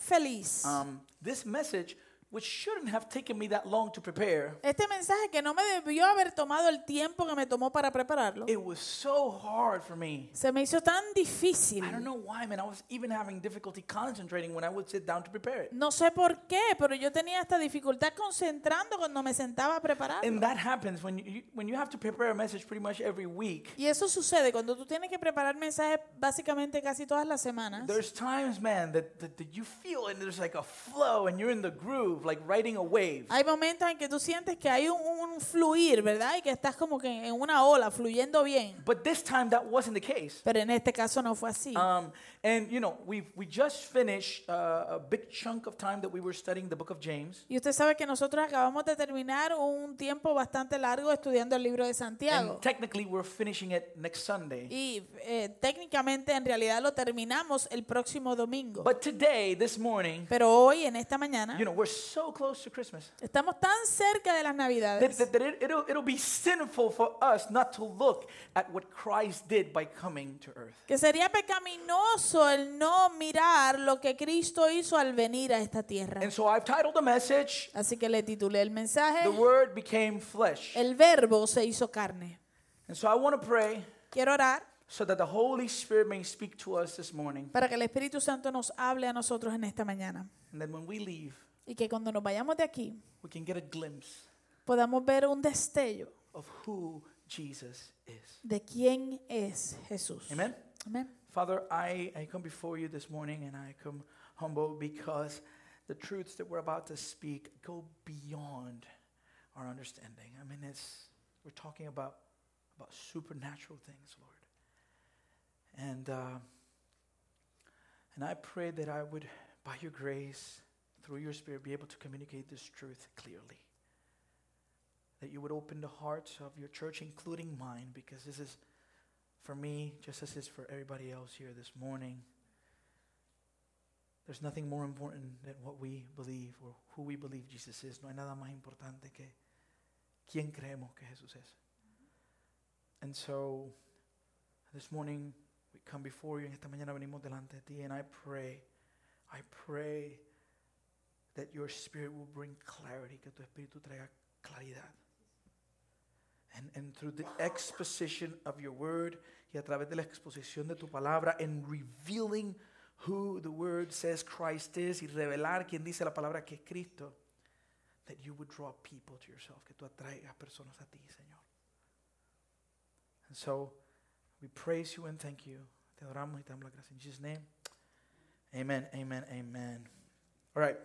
feliz. This message, which shouldn't have taken me that long to prepare, Este mensaje que no me debió haber tomado el tiempo que me tomó para prepararlo, it was so hard for me. se me hizo tan difícil. I don't know why, man. I was even having difficulty concentrating when I would sit down to prepare it. No sé por qué, pero yo tenía esta dificultad concentrando cuando me sentaba a prepararlo. And that happens when you have to prepare a message pretty much every week. Y eso sucede cuando tú tienes que preparar mensajes básicamente casi todas las semanas. There's times, man, that you feel and there's like a flow and you're in the groove, like riding a wave. Hay momentos en que tú sientes que hay un fluir, ¿verdad? Y que estás como que en una ola, fluyendo bien. But this time that wasn't the case. Pero en este caso no fue así. And you know, we just finished a big chunk of time that we were studying the book of James. Y usted sabe que nosotros acabamos de terminar un tiempo bastante largo estudiando el libro de Santiago. And technically we're finishing it next Sunday. Y técnicamente en realidad lo terminamos el próximo domingo. But today, this morning, Pero hoy, en esta mañana, you know, we're so close to Christmas estamos tan cerca de las Navidades that it'll be sinful for us not to look at what Christ did by coming to earth. que sería pecaminoso el no mirar lo que Cristo hizo al venir a esta tierra. And so I've titled the message, Así que le titulé el mensaje, The Word Became Flesh. El Verbo se hizo carne. And so I want to pray Quiero orar so that the Holy Spirit may speak to us this morning. para que el Espíritu Santo nos hable a nosotros en esta mañana. And then when we leave, Y que cuando nos vayamos de aquí we can get a glimpse podamos ver un destello of who Jesus is. de quién es Jesús. Amen? Amén. Father, I come before you this morning and I come humble because the truths that we're about to speak go beyond our understanding. I mean, we're talking about supernatural things, Lord. And I pray that I would, by your grace, through your Spirit, be able to communicate this truth clearly. That you would open the hearts of your church, including mine, because this is for me, just as it's for everybody else here this morning. There's nothing more important than what we believe or who we believe Jesus is. No hay nada más importante que quién creemos que Jesús es. And so, this morning, we come before you. En esta mañana venimos delante de ti. And I pray that your Spirit will bring clarity, que tu Espíritu traiga claridad. And through the exposition of your word, y a través de la exposición de tu palabra, and revealing who the word says Christ is, y revelar quién dice la palabra que es Cristo, that you would draw people to yourself, que tú atraigas personas a ti, Señor. And so, we praise you and thank you. Te adoramos y te damos la gracia. In Jesus' name, amen, amen, amen. All right.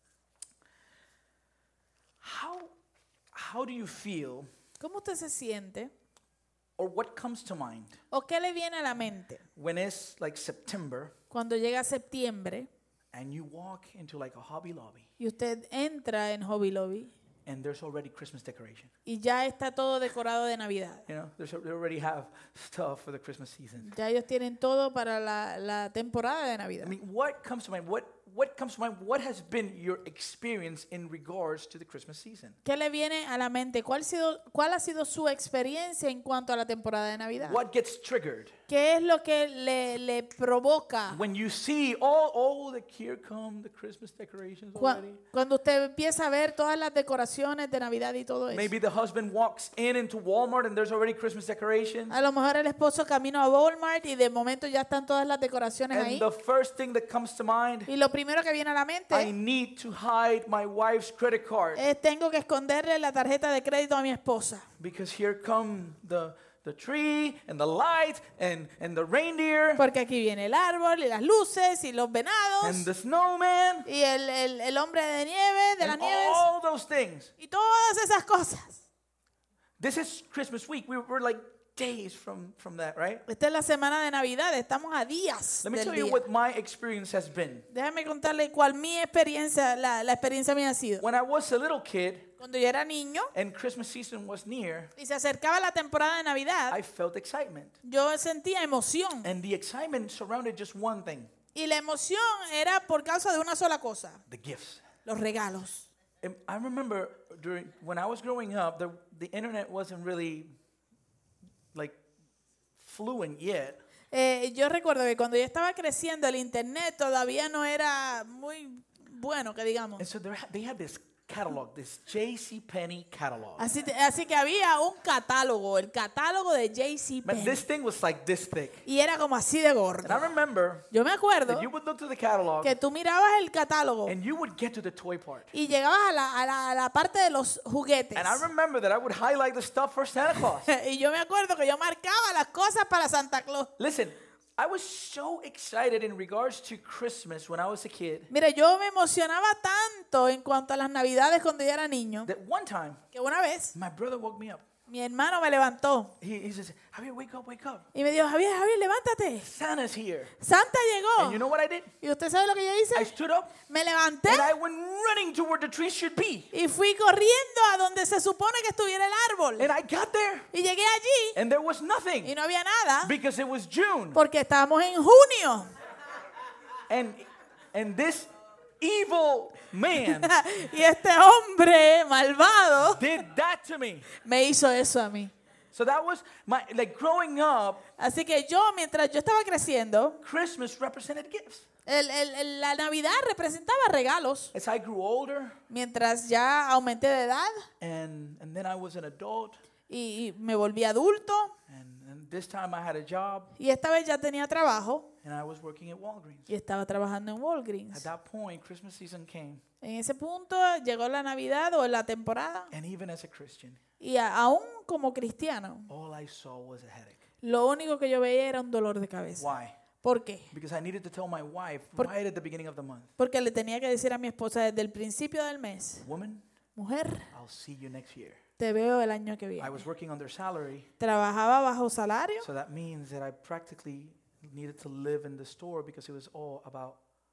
How do you feel, ¿Cómo usted se siente? or what comes to mind ¿O qué le viene a la mente when it's like September cuando llega septiembre and you walk into like a Hobby Lobby y usted entra en Hobby Lobby and there's already Christmas decoration? y ya está todo decorado de Navidad? You know, they already have stuff for the Christmas season. Ya ellos tienen todo para la temporada de Navidad. I mean, what comes to mind? What comes to mind? What has been your experience in regards to the Christmas season? ¿Qué le viene a la mente? ¿Cuál ha sido su experiencia en cuanto a la temporada de Navidad? What gets triggered ¿Qué es lo que le provoca when you see here come the Christmas decorations already? cuando usted empieza a ver todas las decoraciones de Navidad y todo eso? Maybe the husband walks into Walmart and there's already Christmas decorations. A lo mejor el esposo camina a Walmart y de momento ya están todas las decoraciones And ahí. the first thing that comes to mind, Y lo primero que viene a la I mente need to hide my wife's credit card es tengo que esconderle la tarjeta de crédito a mi esposa. because here come the tree and the light and the reindeer Porque aquí viene el árbol y las luces y los venados and the snowman y el hombre de nieve, de las and nieves all those things. y todas esas cosas. This is Christmas week. We're like days from that, right? Esta es la semana de Navidad, estamos a días Let me del tell you día. what my experience has been. Déjame contarle cuál mi experiencia, la experiencia mía ha sido. When I was a little kid Cuando yo era niño and Christmas season was near, y se acercaba la temporada de Navidad, I felt excitement. yo sentía emoción. And the excitement surrounded just one thing, Y la emoción era por causa de una sola cosa, the gifts. los regalos. And I remember when I was growing up, the internet wasn't really like fluent yet. Yo recuerdo que cuando yo estaba creciendo el internet todavía no era muy muy bueno, que digamos. And so they had this catalog, this JCPenney catalog. Así que había un catálogo, el catálogo de But JCPenney. this thing was like this thick. Y era como así de And I gordo. remember Yo me acuerdo that you would look through the catalog que tú mirabas el catálogo and you would get to the toy part. y llegabas a la parte de los juguetes. And I remember that I would highlight the stuff for Santa Claus. Y yo me acuerdo que yo marcaba las cosas para Santa Claus. Listen, I was so excited in regards to Christmas when I was a kid Mire, yo me emocionaba tanto en cuanto a las Navidades cuando yo era niño, that one time que una vez my brother woke me up. mi hermano me levantó He says, Javier, wake up, wake up. y me dijo, Javier, levántate. Santa's here. Santa And llegó. you know what I did? ¿Y usted sabe lo que yo I hice? stood up Me levanté and I went running to where the tree should be. y fui corriendo a donde se supone que estuviera el árbol. And I got there Y llegué allí and there was y nothing no había nada because it was June. porque estábamos en junio. And this evil man Y este hombre malvado did that to me. me hizo eso a mí. So that was my, like growing up, Así que yo, mientras yo estaba creciendo, Christmas represented gifts. la Navidad representaba regalos. As I grew older Mientras ya aumenté de edad and then I was an adult y me volví adulto, and this time I had a job y esta vez ya tenía trabajo and I was working at Walgreens. y estaba trabajando en At Walgreens. that point, Christmas season came, En ese punto llegó la Navidad o la temporada and even as a Christian, y aún como cristiano, all I saw was a headache. lo único que yo veía era un dolor de cabeza. Why? ¿Por qué? Because I needed to tell my wife Por- right at the beginning of the month, Porque le tenía que decir a mi esposa desde el principio del mes, woman, mujer, I'll see you next year. te veo el año que I viene. was working on their salary, Trabajaba bajo salario, so that means that I practically needed to live in the store because it was all about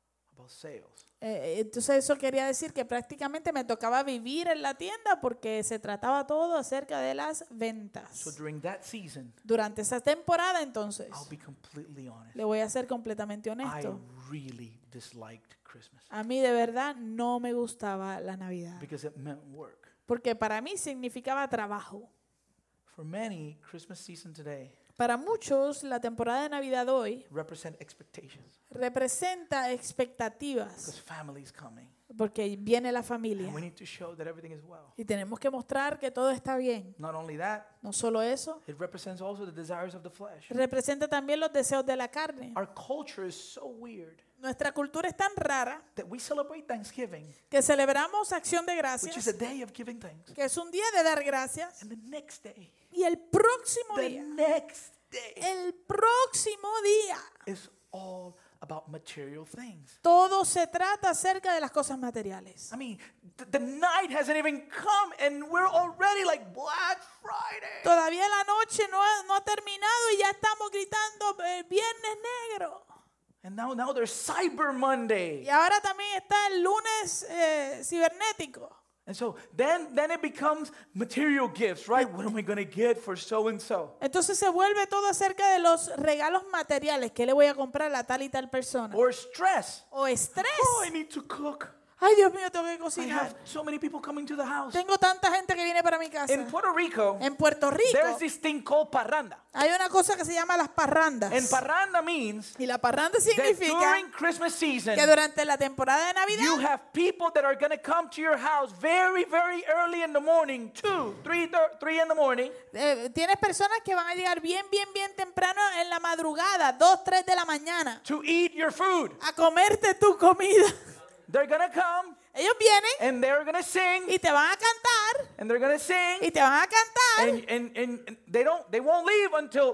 sales. entonces eso quería decir que prácticamente me tocaba vivir en la tienda porque se trataba todo acerca de las So ventas. during that season, Durante esa temporada entonces, I'll be completely honest, le voy a ser completamente I honesto, really disliked Christmas a mí de verdad no me gustaba la Navidad because it meant work. porque para mí significaba trabajo. For many, Christmas season today Para muchos la temporada de Navidad hoy represent expectations representa expectativas because family's coming porque viene la familia and we need to show that everything is well. y tenemos que mostrar que todo está bien. Not only that, No solo eso, it represents also the desires of the flesh. representa también los deseos de la carne. Our culture is so weird Nuestra cultura es tan rara that we celebrate Thanksgiving, que celebramos Acción de which is Gracias, a day of giving thanks, que es un día de dar gracias, and the next day, y el próximo the día, next day el próximo día, is all about material things. todo se trata acerca de las cosas materiales. I mean, the night hasn't even come and we're already like Black Friday. Todavía la noche no ha terminado y ya estamos gritando Viernes Negro. And now there's Cyber Monday. Y ahora también está el lunes cibernético. And so then it becomes material gifts, right? What am I going to get for so and so? Entonces se vuelve todo acerca de los regalos materiales. ¿Qué le voy a comprar a tal y tal persona? Or stress. O estrés. Oh, I need to cook. Ay, Dios mío, tengo que I cocinar. have so many people coming to the house. Tengo tanta gente que viene para mi casa. In Puerto Rico, En Puerto there's Rico this thing called parranda. hay una cosa que se llama las parrandas. And parranda means Y la parranda that significa during Christmas season, que durante la temporada de you Navidad have people that are going to come to your house very, very early in the morning, 3 in the morning, tienes personas que van a llegar bien temprano en la madrugada, 2, 3 de la mañana, to eat your food. a comerte tu comida. They're going to come Ellos vienen and they're going to sing y te van a cantar and they're going to sing y te van a cantar and they won't leave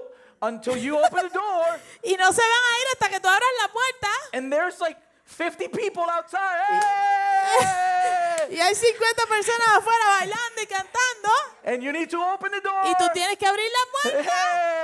until you open the door y no se van a ir hasta que tú abras la puerta and there's like 50 people outside. Hey! y hay 50 personas afuera bailando y cantando And you need to open the door. y tú tienes que abrir la puerta.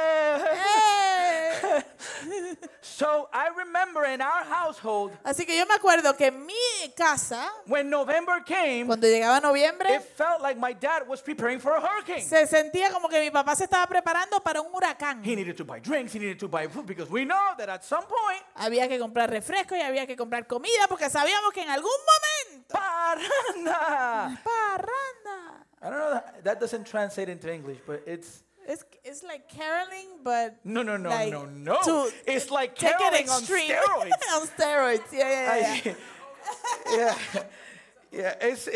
¡Eh! So I remember in our household, Así que yo me acuerdo que en mi casa, when November came, cuando llegaba noviembre, it felt like my dad was preparing for a hurricane. se sentía como que mi papá se estaba preparando para un huracán. He needed to buy drinks, he needed to buy food, because we know that at some point, Había que comprar refrescos y había que comprar comida porque sabíamos que en algún momento paranda. parranda. I don't know, that doesn't translate into English, but it's It's like caroling, but no. like No. to It's like take it caroling on extreme. steroids. On steroids, yeah. I- Yeah, yeah.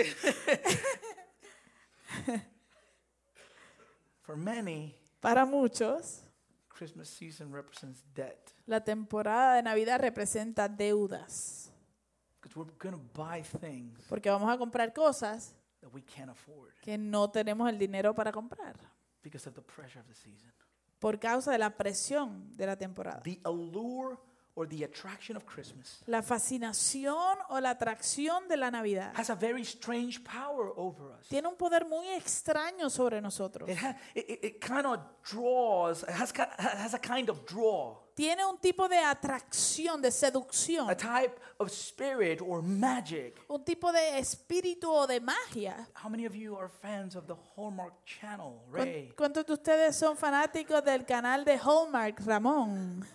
For many, Para muchos, Christmas season represents debt la temporada de Navidad representa deudas, because we're going to buy things porque vamos a comprar cosas that we can't afford que no tenemos el dinero para comprar because of the pressure of the season. por causa de la presión de la temporada. The allure or the attraction of Christmas La fascinación o la atracción de la Navidad has a very strange power over us. tiene un poder muy extraño sobre nosotros. It kind of draws, has a kind of draw, Tiene un tipo de atracción, de seducción, a type of spirit or magic. un tipo de espíritu o de magia. How many of you are fans of the Hallmark Channel, Ray? ¿Cuántos de ustedes son fanáticos del canal de Hallmark, Ramón?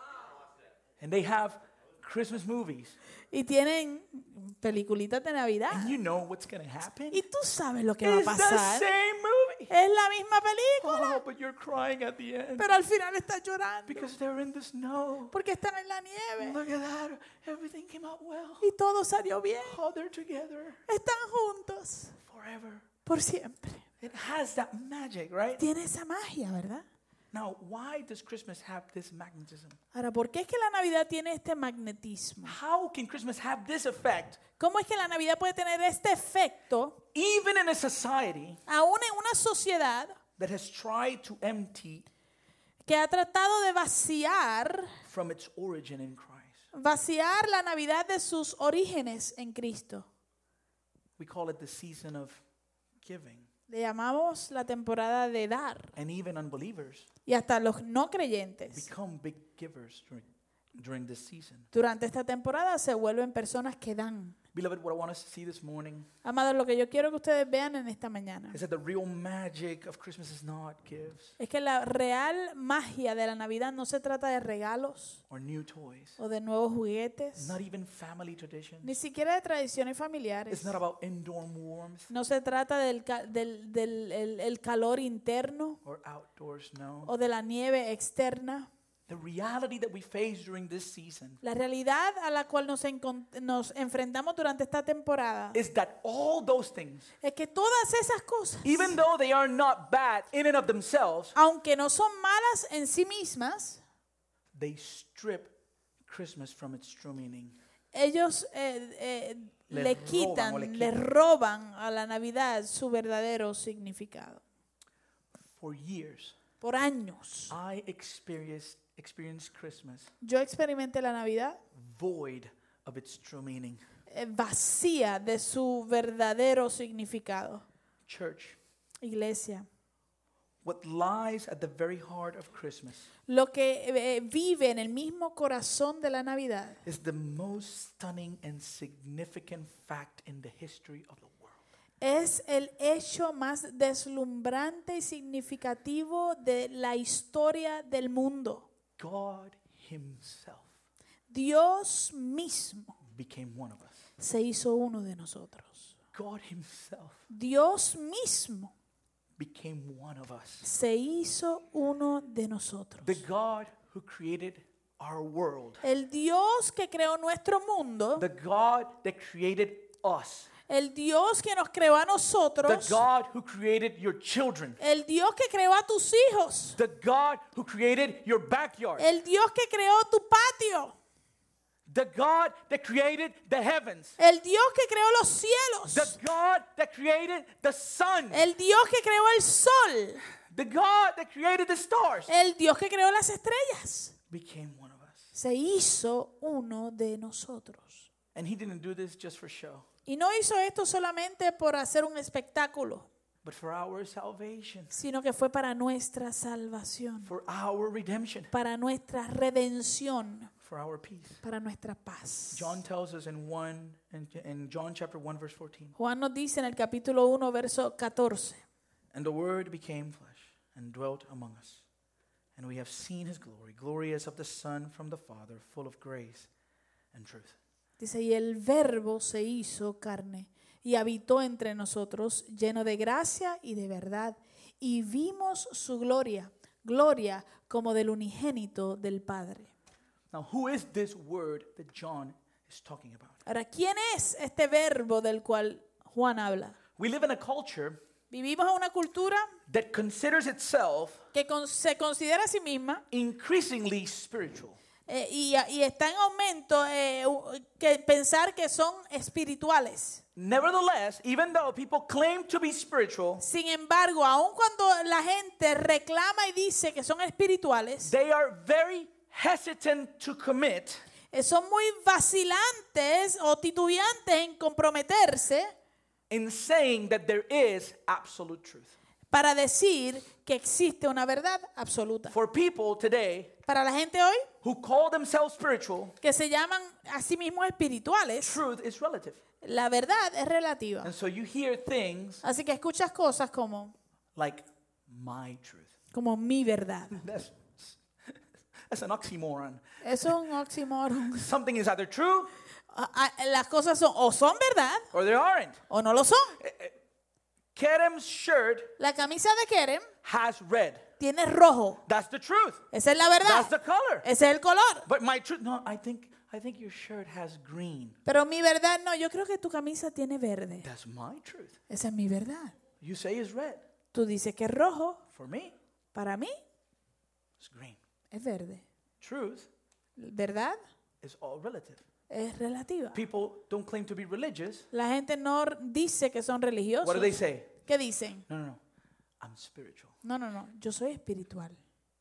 And they have Christmas movies. Y tienen peliculitas de Navidad. And you know what's going to happen? Y tú sabes lo que va a It's the pasar. same movie. Es la misma película. Oh, but you're crying at the end Pero al final estás llorando. because they're in the snow. Porque están en la nieve. Look at that. Everything came out well. Y todo salió bien. Oh, they're together Están juntos. forever. Por siempre. It has that magic, right? Tiene esa magia, ¿verdad? Now, why does Christmas have this magnetism? Ahora, ¿por qué es que la Navidad tiene este magnetismo? How can Christmas have this effect ¿Cómo es que la Navidad puede tener este efecto even in a society aún en una sociedad that has tried to empty que ha tratado de from its origin in Christ? vaciar la Navidad de sus orígenes en Cristo? We call it the season of giving. Le llamamos la temporada de dar. And even unbelievers Y hasta los no creyentes become big givers during this season. durante esta temporada se vuelven personas que dan. Beloved, what I want us to see this morning Amados, lo que yo quiero que ustedes vean en esta mañana is that the real magic of Christmas is not gifts es que la real magia de la Navidad no se trata de regalos or new toys, o de nuevos juguetes, not even family traditions. ni siquiera de tradiciones familiares. It's not about indoor warmth No se trata el calor interno or outdoor snow. o de la nieve externa. The reality that we face during this season La realidad a la cual nos enfrentamos durante esta temporada is that all those things, es que todas esas cosas, even though they are not bad in and of themselves, aunque no son malas en sí mismas, they strip Christmas from its true meaning. ellos Le roban o le le quitan. roban a la Navidad su verdadero significado. For years, Por años, I experienced Christmas yo experimenté la Navidad void of its true meaning. Vacía de su verdadero significado. Church, Iglesia, what lies at the very heart of Christmas lo que vive en el mismo corazón de la Navidad is the most stunning and significant fact in the history of the world. es el hecho más deslumbrante y significativo de la historia del mundo. God Himself Dios mismo became one of us. se hizo uno de nosotros. God Himself Dios mismo became one of us. se hizo uno de nosotros. The God who created our world, El Dios que creó nuestro mundo, the God that created us, el Dios que nos creó a the nosotros, God who created your children, el Dios que creó a tus hijos, the God who created your backyard, el Dios que creó tu patio, the God that created the heavens, el Dios que creó los the cielos, God that created the sun, el Dios que creó el sol, the God that created the stars, el Dios que creó las estrellas, became one of us. se hizo uno de nosotros. And He didn't do this just for show, Y no hizo esto solamente por hacer un espectáculo, but for our salvation, sino que fue para nuestra salvación, for our redemption, para nuestra redención, for our peace. para nuestra paz. John tells us in John chapter 1 verse 14, Juan nos dice en el capítulo 1, verso 14, and the Word became flesh and dwelt among us, and we have seen His glory, glory as of the Son from the Father, full of grace and truth. dice, y el Verbo se hizo carne y habitó entre nosotros, lleno de gracia y de verdad, y vimos su gloria, gloria como del unigénito del Padre. Now, who is this Word that John is talking about. Ahora, ¿quién es este verbo del cual Juan habla? We live in a culture Vivimos en una cultura that considers itself que se considera a sí misma increasingly spiritual. y está en aumento que pensar que son espirituales. Nevertheless, even though people claim to be spiritual, Sin embargo, aun cuando la gente reclama y dice que son espirituales, they are very hesitant to commit son muy vacilantes o titubeantes en comprometerse in saying that there is absolute truth. para decir que existe una verdad absoluta. For people today Para la gente hoy who call themselves spiritual, que se llaman a sí mismos espirituales, truth is relative. la verdad es relativa. And so you hear things Así que escuchas cosas como like my truth. mi verdad. That's an oxymoron. Eso es un oxímoron. Something is either true Las cosas son o son verdad or they aren't. o no lo son. Kerem's shirt La camisa de Kerem has red. tiene rojo. That's the truth. Esa es la That's the verdad. color. Ese es el color. But my truth, no, I think your shirt has green. Pero mi verdad no, yo creo que tu camisa tiene verde. That's my truth. Esa es mi verdad. You say it's red. Tú dices que es rojo. For me, Para mí it's green. es verde. Truth ¿Verdad? is all relative. Es relativa. People don't claim to be religious. La gente no dice que son religiosos. What do they say? ¿Qué dicen? No. I'm spiritual. No, yo soy espiritual.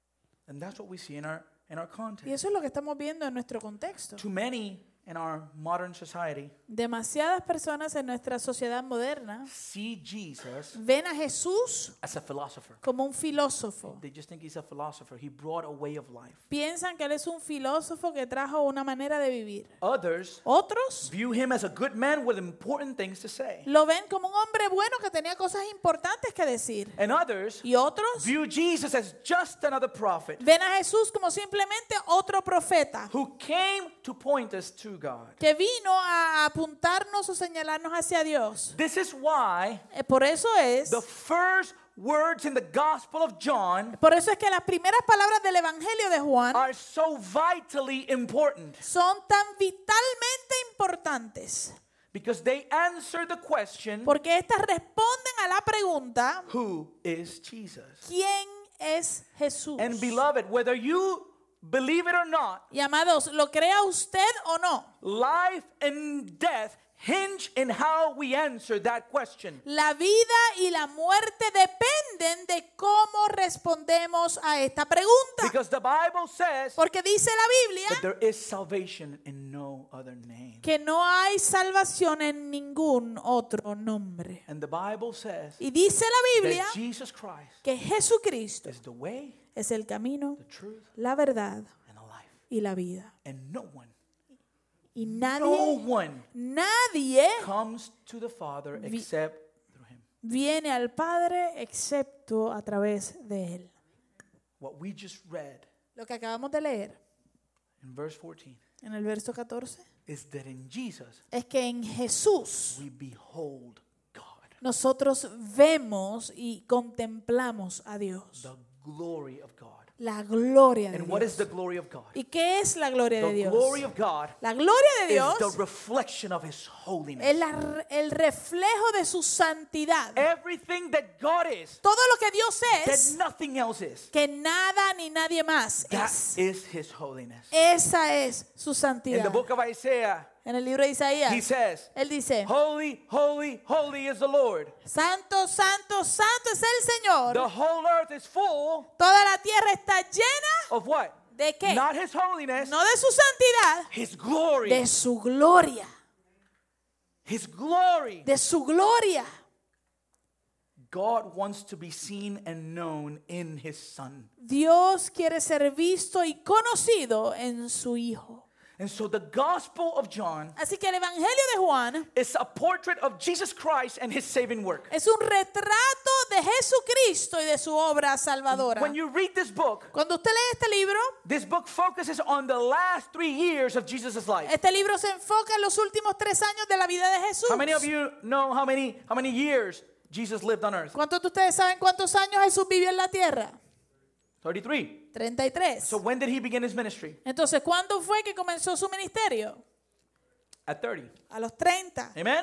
And that's what we see in our Y context. eso es lo que estamos viendo en nuestro contexto. Too many in our modern society Demasiadas personas en nuestra sociedad moderna see Jesus ven a Jesús as a philosopher. como un filósofo. They just think he's a philosopher. He brought a way of life. Piensan que él es un filósofo que trajo una manera de vivir. Others Otros view him as a good man with important things to say. lo ven como un hombre bueno que tenía cosas importantes que decir. And others Y otros view Jesus as just another prophet ven a Jesús como simplemente otro profeta who came to point us to God. que vino a apuntarnos o señalarnos hacia Dios. This is why Por eso es the first words in the Gospel of John que las primeras palabras del Evangelio de Juan are so vitally important son tan vitalmente importantes. because they answer the question, Porque estas responden a la pregunta, who is Jesus? ¿quién es Jesús? And beloved, whether you believe it or not, Y amados, ¿lo crea usted o no? life and death hinge in how we answer that question. La vida y la muerte dependen de cómo respondemos a esta pregunta. Because the Bible says Porque dice la that Biblia there is salvation in no other name. que no hay salvación en ningún otro nombre. And the Bible says Y dice la Biblia that Jesus Christ que Jesucristo is the way, es el camino, the truth, la verdad and the life. y la vida. And no one Y No one nadie comes to the Father except through him. viene al Padre excepto a través de Él. What we just read Lo que acabamos de leer in verse 14 en el verso 14 is that in Jesus es que en Jesús we behold God, nosotros vemos y contemplamos a Dios, the glory of God. la gloria de And what is the Dios. glory of God? ¿Y qué es la gloria de The Dios? glory of God La gloria de is Dios the reflection of his holiness. es el reflejo de su santidad. Everything that God is, Todo lo que Dios that es, nothing else is, que nada ni nadie más that es. is his holiness. Esa es su In santidad. the book of Isaiah, En el libro de he Isaías, says, él dice, holy, holy, holy is the Lord. Santo, santo, santo es el Señor. The whole earth is full Toda la tierra está llena of what? ¿de qué? Not his holiness, No de su santidad, his glory. de su gloria. His glory. De su gloria. God wants to be seen and known in his Son. Dios quiere ser visto y conocido en su Hijo. And so the Gospel of John Así que el Evangelio de Juan is a portrait of Jesus Christ and his saving work. es un retrato de Jesucristo y de su obra salvadora. When you read this book, Cuando usted lee this book focuses on the last 3 years of Jesus' life. este libro se enfoca en los últimos 3 años de la vida de Jesús. How many of you know how many years Jesus lived on earth? ¿Cuántos de ustedes saben cuántos años Jesús vivió en la tierra? 33. 33. So when did he begin his ministry? Entonces, ¿cuándo fue que comenzó su ministerio? at 30. a los 30. Amen?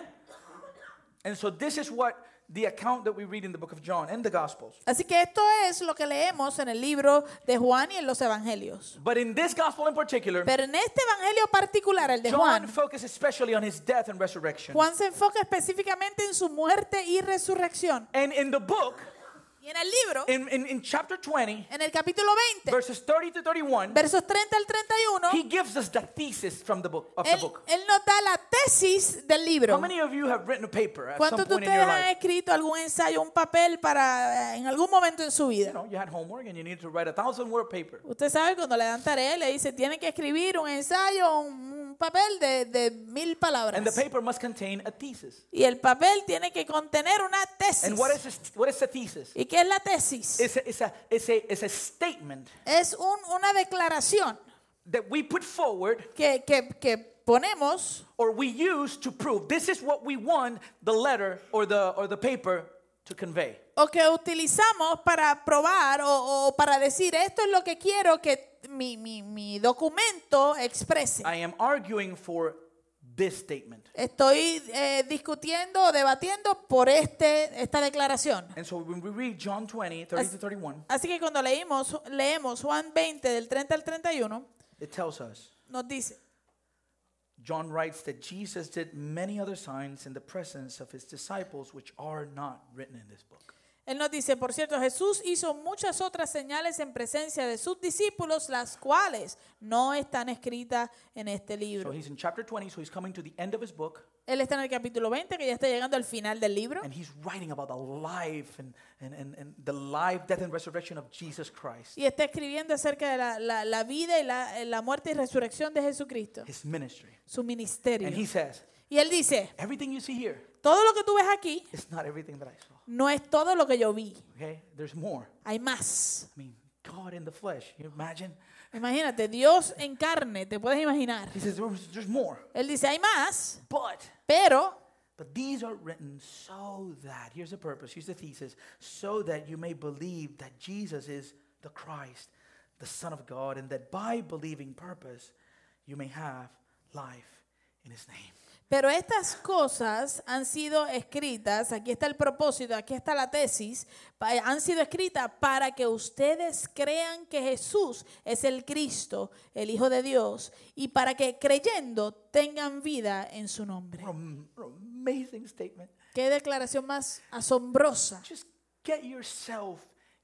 And so this is what the account that we read in the book of John and the Gospels. Así que esto es lo que leemos en el libro de Juan y en los evangelios. But in this gospel in particular, Pero en este evangelio particular, el de John Juan, focuses especially on his death and resurrection. Juan se enfoca específicamente en su muerte y resurrección. And in the book, Y en el libro, in chapter 20, en el capítulo 20, verses 30 to 31, versos 30 al 31, he gives us the thesis from the book, of the book. él nos da la tesis del How libro. many of you have written a paper at some ¿Cuántos de point in ustedes your han life? escrito algún ensayo, un papel para en algún momento en su You vida? know, you had homework and you needed to write a 1,000-word paper. Usted sabe cuando le dan tarea, le dice, tiene que escribir un ensayo, un papel de 1000 palabras. And the paper must contain a thesis. Y el papel tiene que contener una tesis. And what is the thesis? ¿Y qué es la tesis? It's a statement Es una declaración that we put forward que ponemos or we use to prove this is what we want the letter or the paper to convey. o que utilizamos para probar o para decir esto es lo que quiero que mi documento exprese. I am arguing for this statement. Estoy discutiendo o debatiendo por esta declaración. And so when we read John 20, 30 to 31, Así que cuando leemos Juan 20 del 30 al 31, it tells us, nos dice, John writes that Jesus did many other signs in the presence of his disciples which are not written in this book. él nos dice, por cierto, Jesús hizo muchas otras señales en presencia de sus discípulos, las cuales no están escritas en este So libro. he's in chapter 20, so he's coming to the end of his book, Él está en el capítulo 20, que ya está llegando al final del libro. and he's writing about the life and the life, death, and resurrection of Jesus Christ, Y está escribiendo acerca de la vida y la muerte y resurrección de Jesucristo, his ministry. su ministerio. And he says, Y él dice, everything you see here todo lo que tú ves aquí is not everything that I saw. no es todo lo que yo vi. Okay? There's more. Hay más. I mean, God in the flesh. You imagine? Imagínate, Dios en carne, te puedes imaginar. He says, there's more. Él dice, hay más, But pero these are written so that, here's the purpose, here's the thesis, so that you may believe that Jesus is the Christ, the Son of God, and that by believing purpose, you may have life in his name. Pero estas cosas han sido escritas, aquí está el propósito, aquí está la tesis, han sido escritas para que ustedes crean que Jesús es el Cristo, el Hijo de Dios, y para que creyendo tengan vida en su nombre. What an amazing statement. Qué declaración más asombrosa. Just get yourself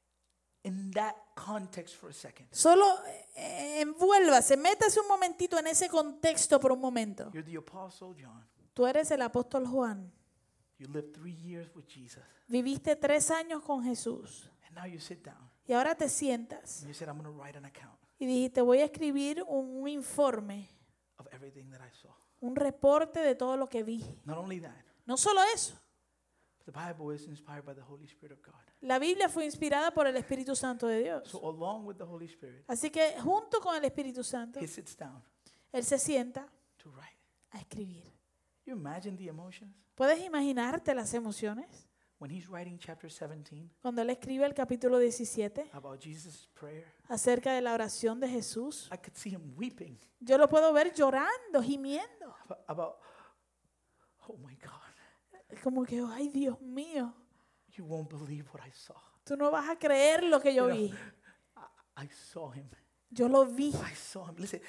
in that context for a second. Solo envuélvase, métase un momentito en ese contexto por un momento. You're the Apostle John. Tú eres el apóstol Juan. You lived 3 years with Jesus. Viviste 3 años con Jesús. And now you sit down Y ahora te sientas and you said, I'm going to write an account y dijiste, voy a escribir un informe, of everything that I saw. un reporte de todo lo que vi. Not only that, No solo eso. the Bible is inspired by the Holy Spirit of God. La Biblia fue inspirada por el Espíritu Santo de Dios. So along with the Holy Spirit, Así que junto con el Espíritu Santo, he sits down Él se sienta to write. a escribir. You imagine the emotions? ¿Puedes imaginarte las emociones? When he's writing chapter 17 Cuando Él escribe el capítulo 17 about Jesus' prayer, acerca de la oración de Jesús, I could see him weeping yo lo puedo ver llorando, gimiendo. about oh my God, Como que, ay Dios mío, you won't believe what I saw. tú no vas a creer lo que yo You know, vi. I saw him. Yo lo vi. I saw him. Listen,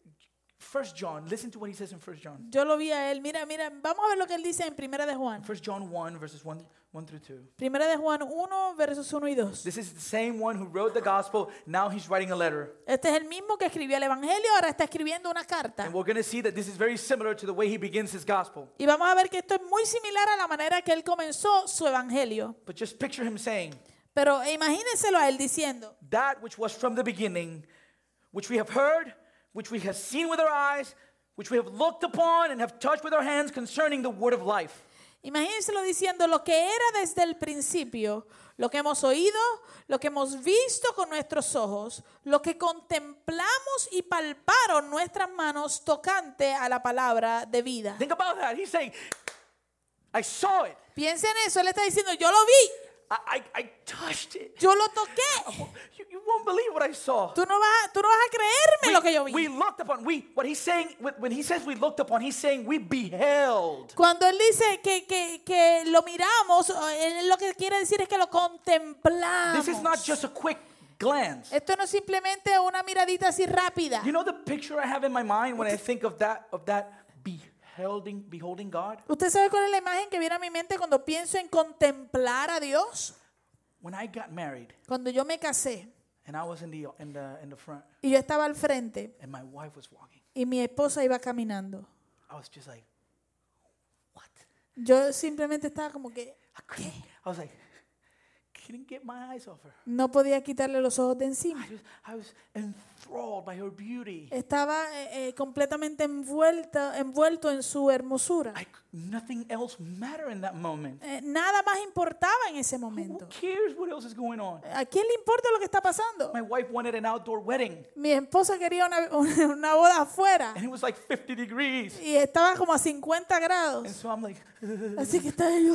1 John, listen to what he says in 1 John. Yo lo vi a Él. Mira, vamos a ver lo que Él dice en Primera de Juan. 1 John 1, verses 1 through 2. Primera de Juan 1, versos 1 y 2. This is the same one who wrote the gospel. Now he's writing a letter. Este es el mismo que escribió el Evangelio, ahora está escribiendo una carta. And we're going to see that this is very similar to the way he begins his gospel. Y vamos a ver que esto es muy similar a la manera que Él comenzó su Evangelio. But just picture him saying, Pero imagínenselo a Él diciendo, that which was from the beginning, which we have heard, which we have seen with our eyes, which we have looked upon and have touched with our hands concerning the word of life. imagínenselo diciendo lo que era desde el principio, lo que hemos oído, lo que hemos visto con nuestros ojos, lo que contemplamos y palparon nuestras manos tocante a la palabra de vida. Think about that. He's saying, I saw it. Piensa en eso, Él está diciendo, yo lo vi, I touched it. Yo lo toqué. You won't believe what I saw. Tú no vas a creerme lo que yo vi. We looked upon. What he's saying when he says we looked upon, he's saying we beheld. Cuando él dice que lo miramos, él lo que quiere decir es que lo contemplamos. This is not just a quick glance. Esto no es simplemente una miradita así rápida. You know the picture I have in my mind when I think of that beholding God? ¿Usted sabe cuál es la imagen que viene a mi mente cuando pienso en contemplar a Dios? When I got married Cuando yo me casé and I was in the front y yo estaba al frente and my wife was walking, y mi esposa iba caminando, I was just like, what? yo simplemente estaba como que I was like, couldn't get my eyes off her. no podía quitarle los ojos de encima. I was enthralled by her beauty. Estaba completamente envuelto en su hermosura. Nothing else mattered in that moment. Nada más importaba en ese Who momento. cares what else is going on? ¿A quién le importa lo que está pasando? My wife wanted an outdoor wedding, Mi esposa quería una boda afuera and it was like 50 degrees. y estaba como a 50 And grados. so I'm like, Así que estaba yo.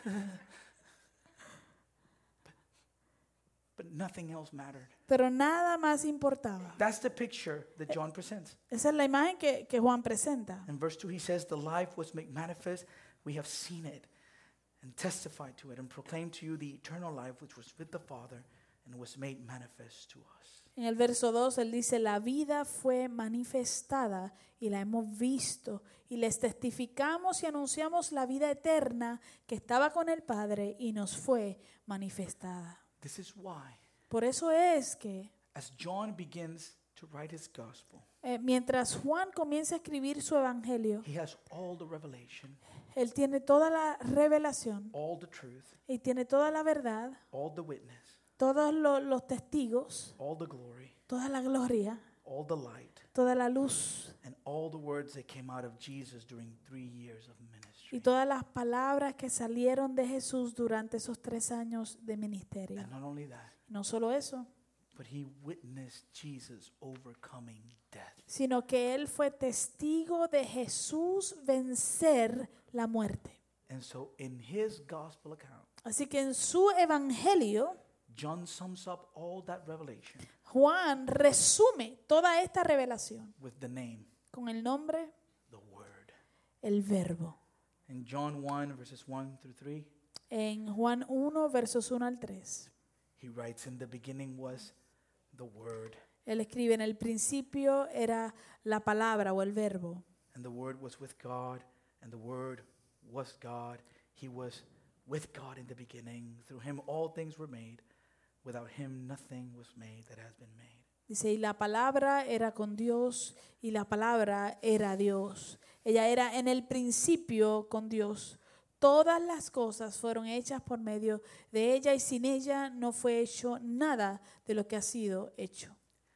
but nothing else mattered. Pero nada más importaba. That's the picture that John presents. Esa es la imagen que Juan presenta. In verse 2, he says, the life was made manifest. We have seen it and testified to it and proclaimed to you the eternal life which was with the Father and was made manifest to us. En el verso 2 él dice, la vida fue manifestada y la hemos visto y les testificamos y anunciamos la vida eterna que estaba con el Padre y nos fue manifestada. This is why, Por eso es que as John begins to write his gospel, mientras Juan comienza a escribir su evangelio, he has all the revelation, él tiene toda la revelación all the truth, y tiene toda la verdad, all the witness, todos los testigos, all the glory, toda la gloria, all the light, toda la luz and all the words that came out of Jesus during 3 years of ministry. y todas las palabras que salieron de Jesús durante esos 3 años de ministerio. And not only that, No solo eso, but he witnessed Jesus overcoming death. sino que él fue testigo de Jesús vencer la muerte. And so in his gospel account, Así que en su evangelio, John sums up all that revelation Juan resume toda esta revelación with the name, con el nombre, the Word. el verbo. In John 1, verses 1 through 3, En Juan 1, versos 1 al 3, he writes, in the beginning was the Word, él escribe, en el principio era la palabra o el verbo. and the Word was with God, and the Word was God. He was with God in the beginning. Through him all things were made. Without him nothing was made that has been made. Dice, y la palabra era con Dios y la palabra era Dios. Ella era en el principio con Dios. Todas las cosas fueron hechas por medio de ella y sin ella no fue hecho nada de lo que ha sido hecho.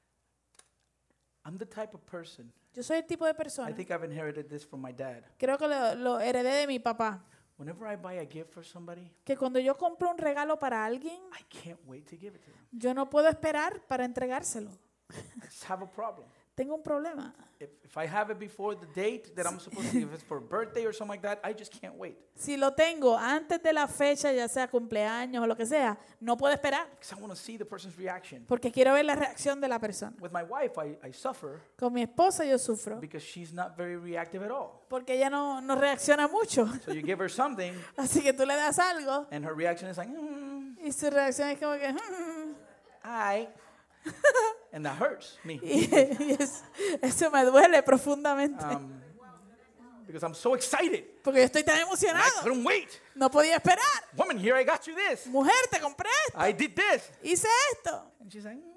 I'm the type of person, Yo soy el tipo de I persona, think I've inherited this from my dad. creo que lo heredé de mi papá, Whenever I buy a gift for somebody, que cuando yo compro un regalo para alguien, I can't wait to give it to them. yo no puedo esperar para entregárselo. I just have a problem. Tengo un problema. If I have it before the date that I'm supposed to, if it's for a birthday or something like that, I just can't wait. Si lo tengo antes de la fecha, ya sea cumpleaños o lo que sea, no puedo esperar Because I want to see the person's reaction. porque quiero ver la reacción de la persona. With my wife, I suffer Con mi esposa yo sufro because she's not very reactive at all. porque ella no reacciona mucho. So you give her something, Así que tú le das algo and her reaction is like, y su reacción es como que... "Hi," and that hurts me y eso me duele profundamente because I'm so excited. porque yo estoy tan And I emocionado. couldn't wait. No podía esperar. Woman, here I got you this. Mujer, te compré esto. I did this. Hice esto. And she's like,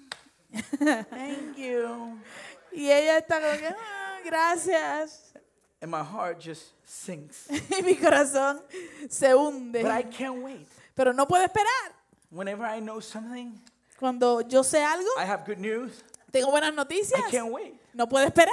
thank you. Y ella está como que, gracias. And my heart just sinks. Y mi corazón se hunde. But I can't wait. Pero no puedo esperar. Whenever I know something, Cuando yo sé algo, I have good news. tengo buenas noticias. I can't wait. No puedo esperar.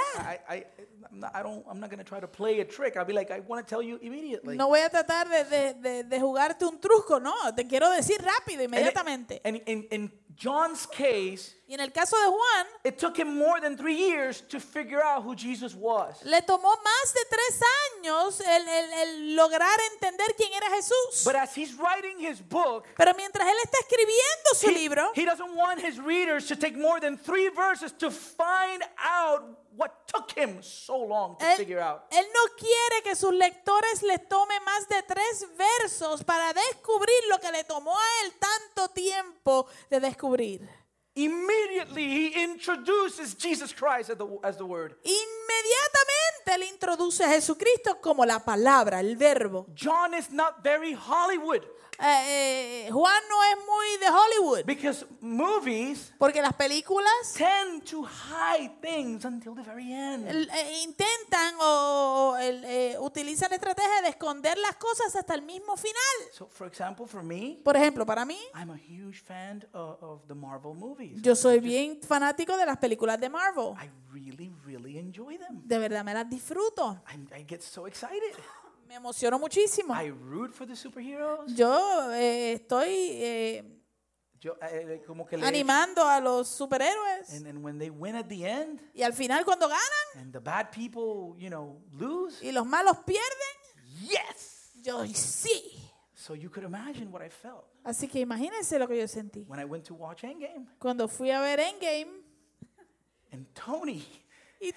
I'm not going to try to play a trick. I'll be like, I want to tell you immediately. No voy a tratar de jugarte un truco, no. Te quiero decir rápido, inmediatamente. And in John's case, Y en el caso de Juan, it took him more than 3 years to figure out who Jesus was. le tomó más de 3 años el lograr entender quién era Jesús. But as he's writing his book, Pero mientras él está escribiendo su libro, he doesn't want his readers to take more than 3 verses to find out what took him so long to figure out. él no quiere que sus lectores les tome más de 3 versos para descubrir lo que le tomó a él tanto tiempo de descubrir. Immediately he introduces Jesus Christ as the word. Inmediatamente él introduce a Jesucristo como la palabra, el verbo. John is not very Hollywood Juan no es muy de Hollywood, because movies porque las películas tend to hide things until the very end. intentan o utilizan estrategias de esconder las cosas hasta el mismo final. So, for example, for me, Por ejemplo, para mí, I'm a huge fan of the Marvel movies. yo soy bien fanático de las películas de Marvel. I really enjoy them. De verdad me las disfruto. I get so excited. Me emociono muchísimo. I root for the superheroes. Yo estoy Yo, como que le animando a los superhéroes. and when they win at the end, Y al final cuando ganan and the bad people, lose, y los malos pierden, yes. yo sí. So you could imagine what I felt Así que imagínense lo que yo sentí. when I went to watch Endgame. Cuando fui a ver Endgame And Tony y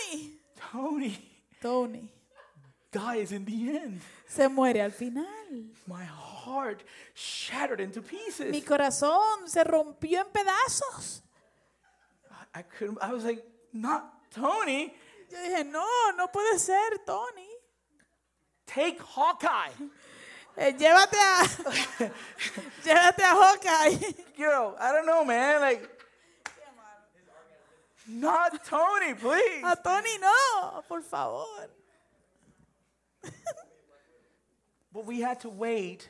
Tony dies in the end. se muere al final. My heart shattered into pieces. Mi corazón se rompió en pedazos. I was like, not Tony. Yo dije, no puede ser, Tony. Take Hawkeye. Llévate a Hawkeye. I don't know, man. Like, not Tony, please. A Tony no, por favor. But we had to wait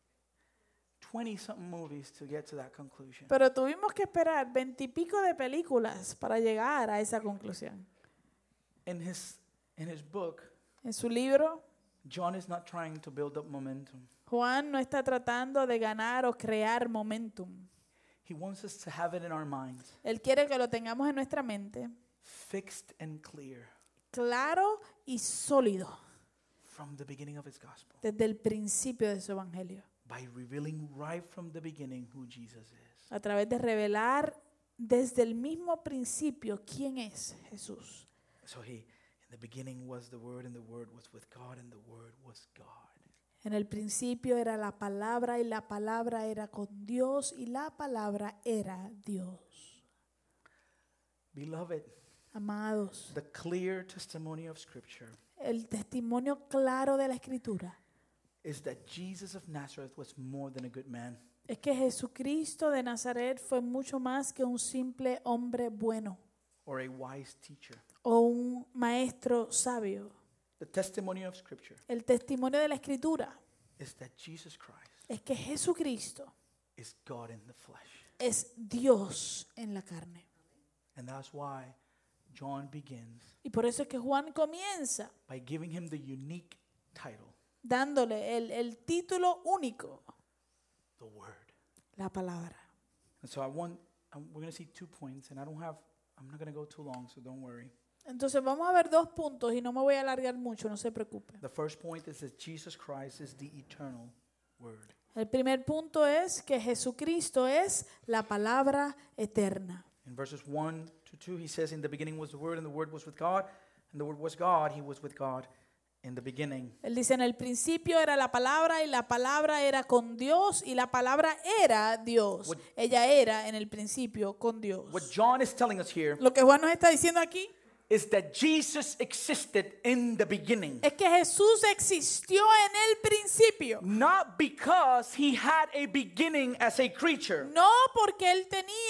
20-something movies to get to that conclusion. Pero tuvimos que esperar 20 y pico de películas para llegar a esa conclusión. In his book, En su libro, John is not trying to build up momentum. Juan no está tratando de ganar o crear momentum. He wants us to have it in our minds, Él quiere que lo tengamos en nuestra mente, fixed and clear claro y sólido, from the beginning of his gospel, desde el principio de su evangelio, by revealing right from the beginning who Jesus is. a través de revelar desde el mismo principio quién es Jesús. So in the beginning was the Word, and the Word was with God, and the Word was God. En el principio era la palabra y la palabra era con Dios y la palabra era Dios. Beloved, Amados, the clear testimony of Scripture el testimonio claro de la Escritura is that Jesus of Nazareth was more than a good man. es que Jesucristo de Nazaret fue mucho más que un simple hombre bueno Or a wise teacher. o un maestro sabio. The testimony of Scripture El testimonio de la Escritura is that Jesus Christ es que Jesucristo is God in the flesh. es Dios en la carne. And that's why John begins Y por eso es que Juan comienza by giving him the unique title, dándole el título único, the Word. la palabra. And so we're going to see 2 points, and I'm not going to go too long, so don't worry. Entonces vamos a ver 2 puntos y no me voy a alargar mucho, no se preocupe. The first point is that Jesus Christ is the eternal Word. El primer punto es que Jesucristo es la palabra eterna. In verses 1 to 2, he says, in the beginning was the Word, and the Word was with God, and the Word was God. He was with God in the beginning. Él dice, en el principio era la palabra y la palabra era con Dios y la palabra era Dios. Ella era en el principio con Dios. What John is telling us here Lo que Juan nos está diciendo aquí is that Jesus existed in the beginning. es que Jesús existió en el principio. Not because he had a beginning as a creature, No porque él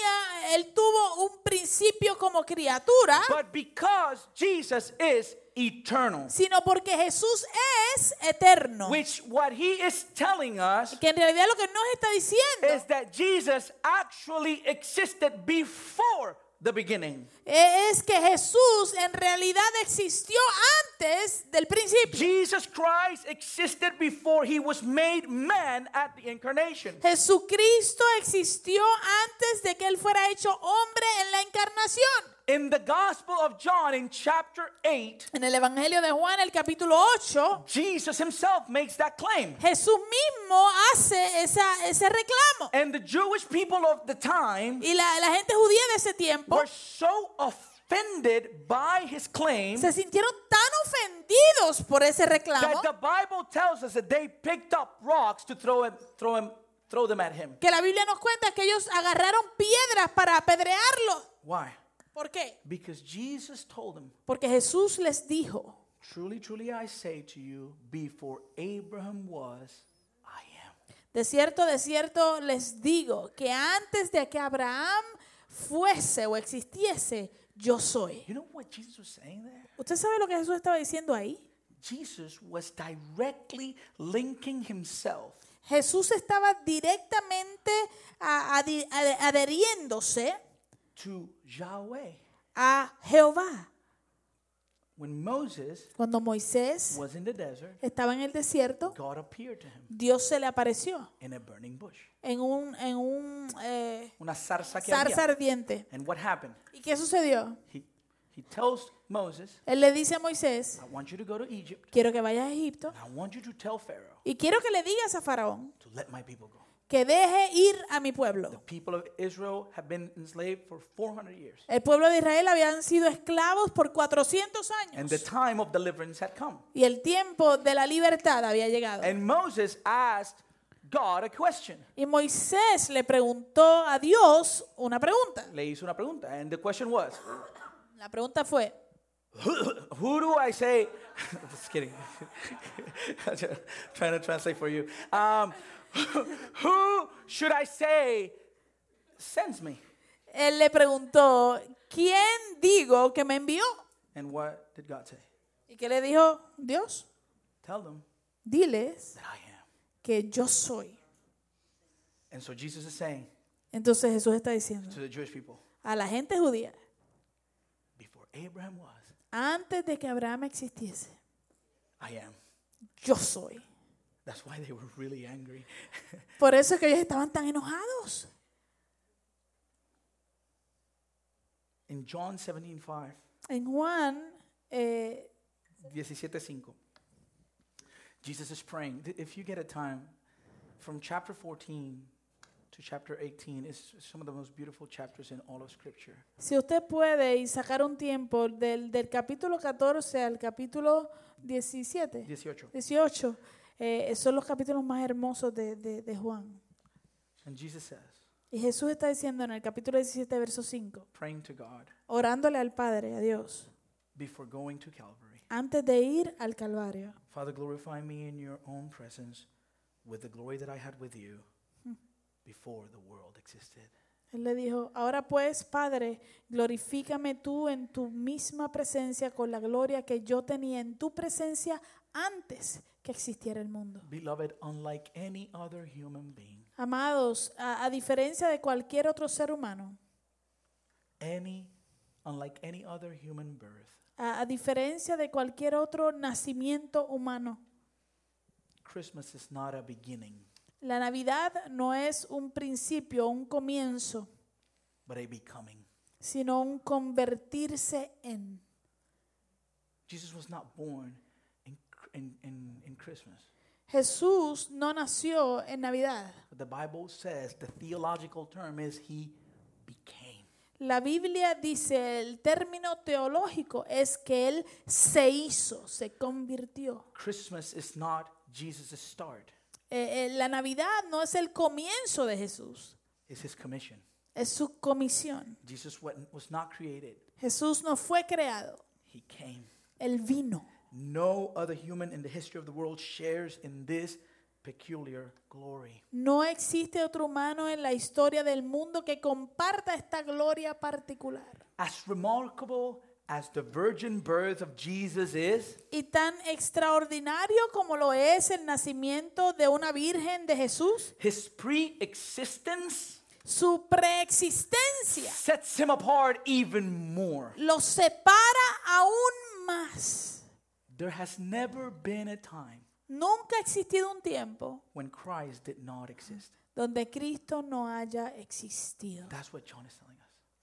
tuvo un principio como criatura, but because Jesus is eternal. sino porque Jesús es eterno. Which what he is telling us Que en realidad lo que nos está diciendo is that Jesus actually existed before the beginning. es que Jesús en realidad existió antes del principio. Jesus Christ existed before he was made man at the incarnation. Jesucristo existió antes de que él fuera hecho hombre en la encarnación. In the Gospel of John, in chapter 8, En el Evangelio de Juan, el capítulo 8, Jesus himself makes that claim. Jesús mismo hace ese reclamo. And the Jewish people of the time Y la gente judía de ese tiempo were so offended by his claim se sintieron tan ofendidos por ese reclamo that the Bible tells us that they picked up rocks to throw them at him. que la Biblia nos cuenta que ellos agarraron piedras para apedrearlo. Why? ¿Por qué? Because Jesus told them, Porque Jesús les dijo, truly, truly I say to you, before Abraham was, I am. de cierto les digo que antes de que Abraham fuese o existiese, yo soy. You know what Jesus was saying there? ¿Usted sabe lo que Jesús estaba diciendo ahí? Jesus was directly linking himself Jesús estaba directamente adheriéndose to Yahweh. a Jehová. When Moses Cuando Moisés was in the desert, estaba en el desierto, God appeared to him Dios se le apareció in a burning bush. en un Una zarza que zarza había. ardiente. And what happened? ¿Y qué sucedió? He tells Moses, Él le dice a Moisés, I want you to go to Egypt. quiero que vayas a Egipto And I want you to tell Pharaoh y quiero que le digas a Faraón to let my people go. que deje ir a mi The pueblo. people of Israel have been enslaved for 400 years. El pueblo de Israel habían sido esclavos por 400 And the años time of deliverance had come. y el tiempo de la libertad había llegado. And Moses asked God a question. Y Moisés le preguntó a Dios una pregunta. Le hizo una pregunta. And the question was, La pregunta fue, who do I say? Just kidding. Trying to translate for you. Who should I say sends me? él le preguntó, ¿quién digo que me envió? And what did God say? ¿Y qué le dijo Dios? Tell them Diles that I am. que yo soy. And so Jesus is saying Entonces Jesús está diciendo to the Jewish people, a la gente judía, before Abraham was, antes de que Abraham existiese, I am. yo soy. That's why they were really angry. Por eso es que ellos estaban tan enojados. In John 17:5, En Juan 17:5, Jesus is praying. If you get a time, from chapter 14 to chapter 18 is some of the most beautiful chapters in all of Scripture. Si usted puede y sacar un tiempo del capítulo 14 al capítulo 18, 18. son los capítulos más hermosos de Juan. And Jesus says, Y Jesús está diciendo en el capítulo 17, verso 5, praying to God orándole al Padre, a Dios, before going to Calvary, antes de ir al Calvario. Father, glorify me in your own presence with the glory that I had with you before the world existed. Él le dijo, ahora pues, Padre, glorifícame tú en tu misma presencia con la gloria que yo tenía en tu presencia antes que existiera el mundo. Beloved, unlike any other human being, Amados, a diferencia de cualquier otro ser humano, unlike any other human birth, a diferencia de cualquier otro nacimiento humano, Christmas is not a beginning, la Navidad no es un principio, un comienzo, but a becoming. sino un convertirse en. Jesus was not born in Christmas. Jesús no nació en Navidad. But the Bible says the theological term is he became. La Biblia dice, el término teológico es que Él se hizo, se convirtió. Christmas is not Jesus' start. La Navidad no es el comienzo de Jesús, It's his commission. es su comisión. Jesus was not created. Jesús no fue creado, He came. Él vino. No other human in the history of the world shares in this peculiar glory. No existe otro humano en la historia del mundo que comparta esta gloria particular. As remarkable as the virgin birth of Jesus is, Y tan extraordinario como lo es el nacimiento de una virgen de Jesús, his pre-existence su preexistencia sets him apart even more. lo separa aún más. There has never been a time Nunca ha existido un tiempo when Christ did not exist. donde Cristo no haya existido. That's what John is telling us.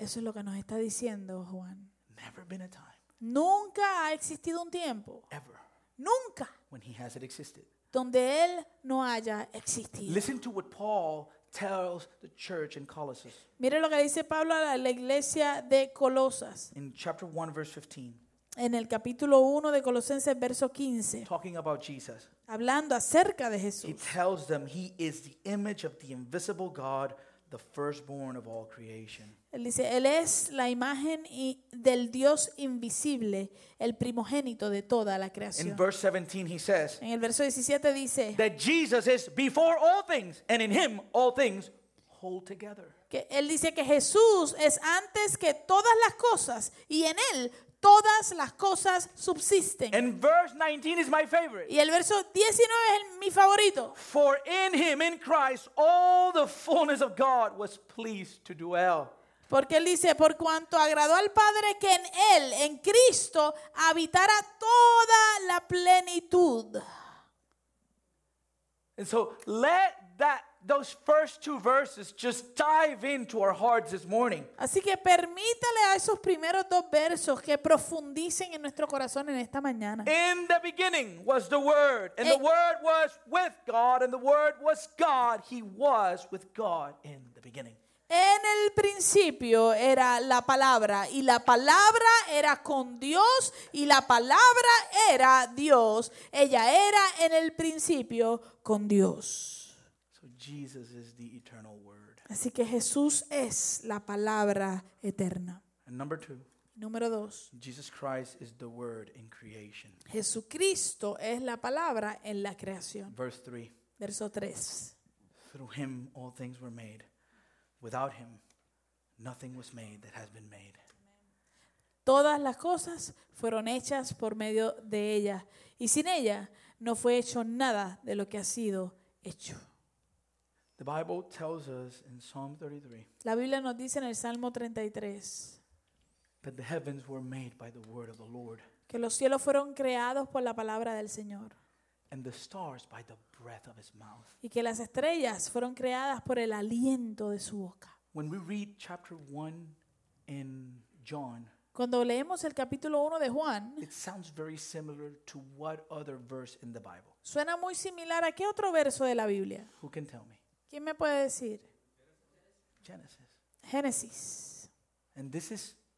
Eso es lo que nos está diciendo Juan. Never been a time, Nunca ha existido un tiempo, ever, nunca, when he hasn't existed. donde Él no haya existido. Listen to what Paul tells the church in Colossus Mire lo que dice Pablo a la iglesia de Colosas, in chapter 1, verse 15, en el capítulo 1 de Colosenses, verso 15, talking about Jesus. hablando acerca de He Jesús. tells them he is the image of the invisible God, the firstborn of all creation. Él dice, Él es la imagen del Dios invisible, el primogénito de toda la In creación. verse 17, he says En el verso 17 dice that Jesus is before all things, and in him all things hold together. que Él dice que Jesús es antes que todas las cosas y en Él todas las cosas subsisten. And verse 19 is my favorite. Y el verso 19 es mi favorito. For in him, in Christ, all the fullness of God was pleased to dwell. Porque Él dice, por cuanto agradó al Padre que en Él, en Cristo, habitara toda la plenitud. And so let those first two verses just dive into our hearts this morning. Así que permítale a esos primeros dos versos que profundicen en nuestro corazón en esta mañana. In the beginning was the Word, and the Word was with God, and the Word was God. He was with God in the beginning. En el principio era la palabra y la palabra era con Dios y la palabra era Dios. Ella era en el principio con Dios. So Jesus is the eternal Word. Así que Jesús es la palabra eterna. And number two, Número 2. Jesus Christ is the Word in creation. Jesucristo es la palabra en la creación. Verse 3, Verso 3. through him all things were made. Without him, nothing was made that has been made. Todas las cosas fueron hechas por medio de ella y sin ella no fue hecho nada de lo que ha sido hecho. The Bible tells us in Psalm 33 La Biblia nos dice en el Salmo 33 that the heavens were made by the word of the Lord, que los cielos fueron creados por la palabra del Señor and the stars by the breath of his mouth. y que las estrellas fueron creadas por el aliento de su boca. When we read chapter 1 in John, Cuando leemos el capítulo 1 de Juan, it sounds very similar to what other verse in the Bible? suena muy similar a qué otro verso de la Biblia. Who can tell me? ¿Quién me puede decir? Genesis. Génesis. And this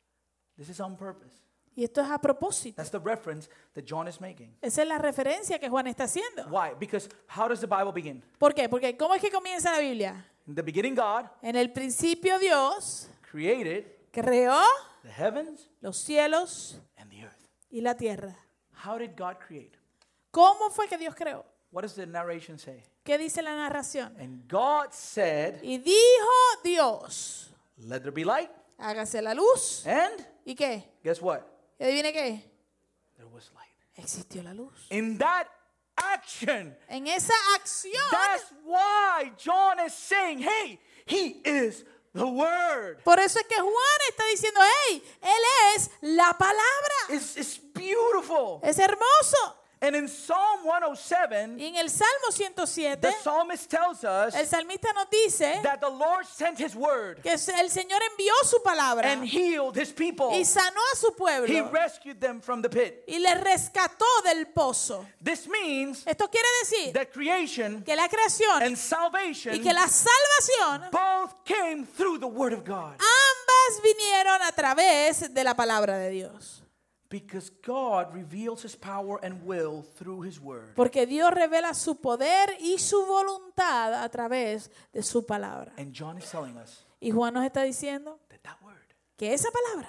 is on purpose. Y esto es a propósito. That's the reference that John is making. Esa es la referencia que Juan está haciendo. Why? Because how does the Bible begin? ¿Por qué? Porque ¿cómo es que comienza la Biblia? In the beginning, God En el principio Dios created creó the heavens los cielos and the earth. y la tierra. How did God create? ¿Cómo fue que Dios creó? What does the narration say? ¿Qué dice la narración? And God said, Y dijo Dios, let there be light. hágase la luz. And ¿Y qué? guess what? ¿Y adivine qué? There was light. Existió la luz. In that action, En esa acción, that's why John is saying, hey, he is the Word. por eso es que Juan está diciendo, hey, Él es la palabra. It's beautiful. Es hermoso. And in Psalm 107, Y en el Salmo 107, the psalmist tells us el salmista nos dice that the Lord sent his word que el Señor envió su palabra and healed his people. y sanó a su He pueblo rescued them from the pit. y les rescató del pozo. This means Esto quiere decir that creation que la creación and salvation y que la salvación both came through the word of God. ambas vinieron a través de la palabra de Dios. Because God reveals his power and will through his word. Porque Dios revela su poder y su voluntad a través de su palabra. And John is telling us Y Juan nos está diciendo that word que esa palabra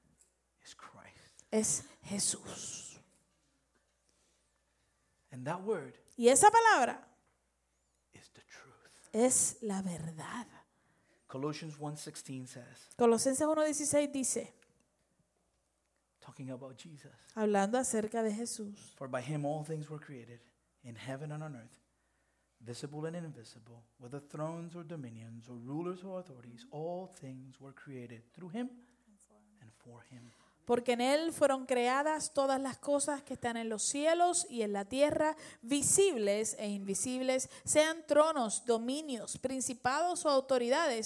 is Christ. es Jesús. And that word Y esa palabra is the truth. es la verdad. Colossians 1:16 says, Colosenses 1:16 dice, talking about Jesus, hablando acerca de Jesús, for by him all things were created, in heaven and on earth, visible and invisible, whether thrones or dominions or rulers or authorities, all things were created through him and for him. porque en Él fueron creadas todas las cosas que están en los cielos y en la tierra, visibles e invisibles, sean tronos, dominios, principados o autoridades.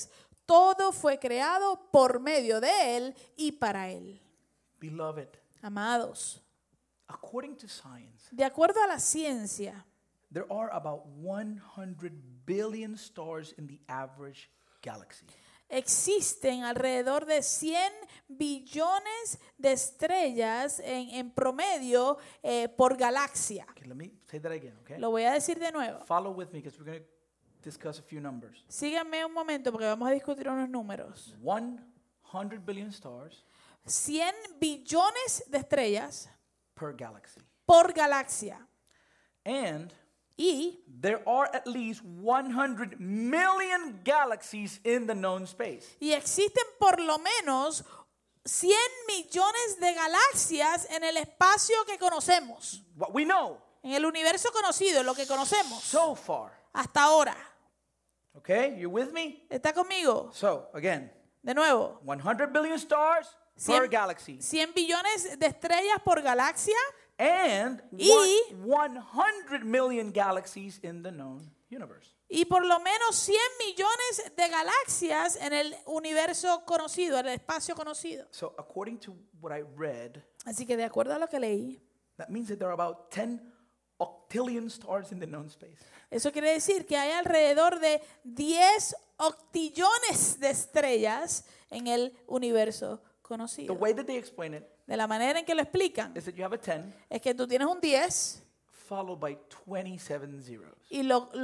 Todo fue creado por medio de Él y para Él. Beloved, Amados, according to science, de acuerdo a la ciencia, there are about 100 billion stars in the average galaxy. existen alrededor de 100 billones de estrellas en promedio por galaxia. Okay, let me say that again, okay? Lo voy a decir de nuevo. Follow with me because we're going to discuss a few numbers. Síganme un momento porque vamos a discutir unos números. 100 billion stars 100 billones de estrellas per galaxy. por galaxia. And Y there are at least 100 million galaxies in the known space. existen por lo menos 100 millones de galaxias en el espacio que conocemos. What we know En el universo conocido, en lo que conocemos so far. hasta ahora. Okay, you with me? ¿Está conmigo? So, again, De nuevo. 100 billion stars per 100, galaxy. 100 billones de estrellas por galaxia And Y- 100 million galaxies in the known universe. y por lo menos 100 millones de galaxias en el universo conocido, en el espacio conocido. So, according to what I read, Así que de acuerdo a lo que leí, that means that there are about 10 octillion stars in the known space. eso quiere decir que hay alrededor de 10 octillones de estrellas en el universo The conocido. way that they explain it De la manera en que lo explican, is that you have a 10 es que tú tienes un 10 followed by 27 zeros. y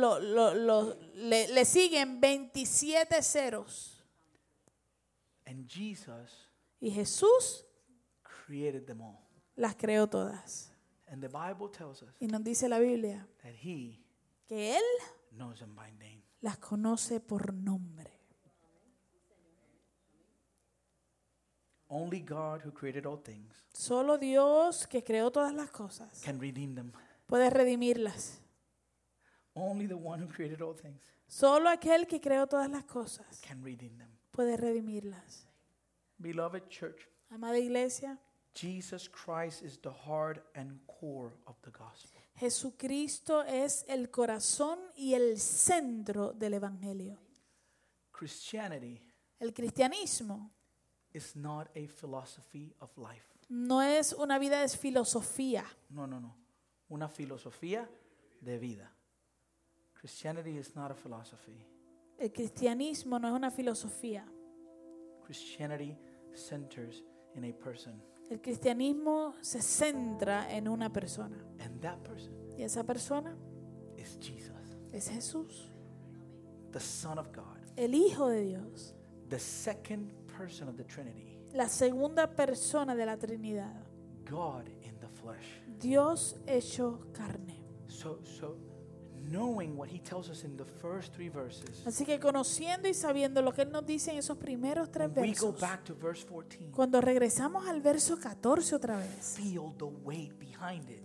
le siguen 27 ceros. And Jesus Y Jesús created them all. las creó todas. And the Bible tells us Y nos dice la Biblia that He que Él knows them by name. las conoce por nombre. Only God who created all things Solo Dios, que creó todas las cosas, can redeem them. puede redimirlas. Only the one who created all things Solo aquel que creó todas las cosas can redeem them. puede redimirlas. Beloved church, Amada iglesia, Jesus Christ is the heart and core of the gospel. Jesucristo es el corazón y el centro del evangelio. Christianity El cristianismo is not a philosophy of life. no es una vida de filosofía. No. Una filosofía de vida. Christianity is not a philosophy. El cristianismo no es una filosofía. Christianity centers in a person. El cristianismo se centra en una persona. And that person Y esa persona is Jesus, es Jesús, the Son of God, el Hijo de Dios, the second person of the Trinity, la segunda persona de la Trinidad, God in the flesh. Dios hecho carne. So knowing what he tells us in the first 3 verses, Así que conociendo y sabiendo lo que Él nos dice en esos primeros 3 when we go versos, back to verse 14, cuando regresamos al verso 14 otra vez, feel the weight behind it.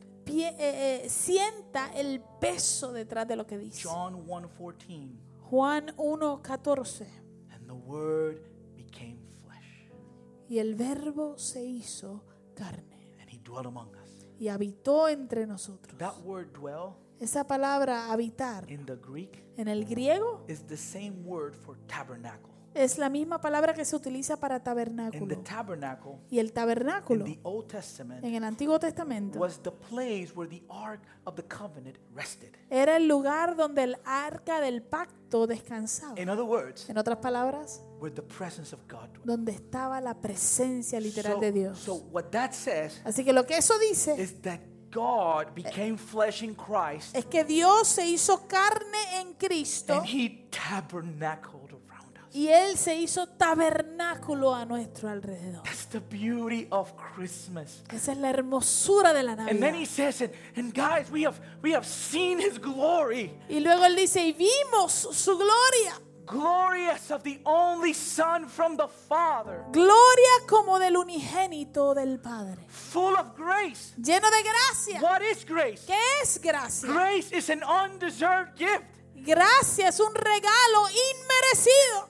sienta el peso detrás de lo que dice. John 1:14, Juan 1:14. and the word became flesh, Y el verbo se hizo carne and he dwelt among us. y habitó entre nosotros. That word dwell Esa palabra habitar in the Greek en el griego is the same word for tabernacle. es la misma palabra que se utiliza para In the tabernáculo. tabernacle Y el in tabernáculo the Old Testament en el Antiguo Testamento was the place where the Ark of the Covenant rested. era el lugar donde el arca del pacto descansaba. In other words, En otras palabras, where the presence of God dwelt. donde estaba la presencia literal de Dios. So what that says Así que lo que eso dice is that God became flesh in Christ es que Dios se hizo carne en Cristo and he tabernacled around us. y Él se hizo tabernáculo a nuestro alrededor. That's the beauty of Christmas. Esa es la hermosura de la And then he Navidad. says, and guys, we have seen his glory. Y luego Él dice, y vimos su gloria. Glorious of the only Son from the Father. Gloria como del unigénito del Padre. Full of grace. Lleno de gracia. What is grace? ¿Qué es gracia? Grace is an undeserved gift. Gracia es un regalo inmerecido.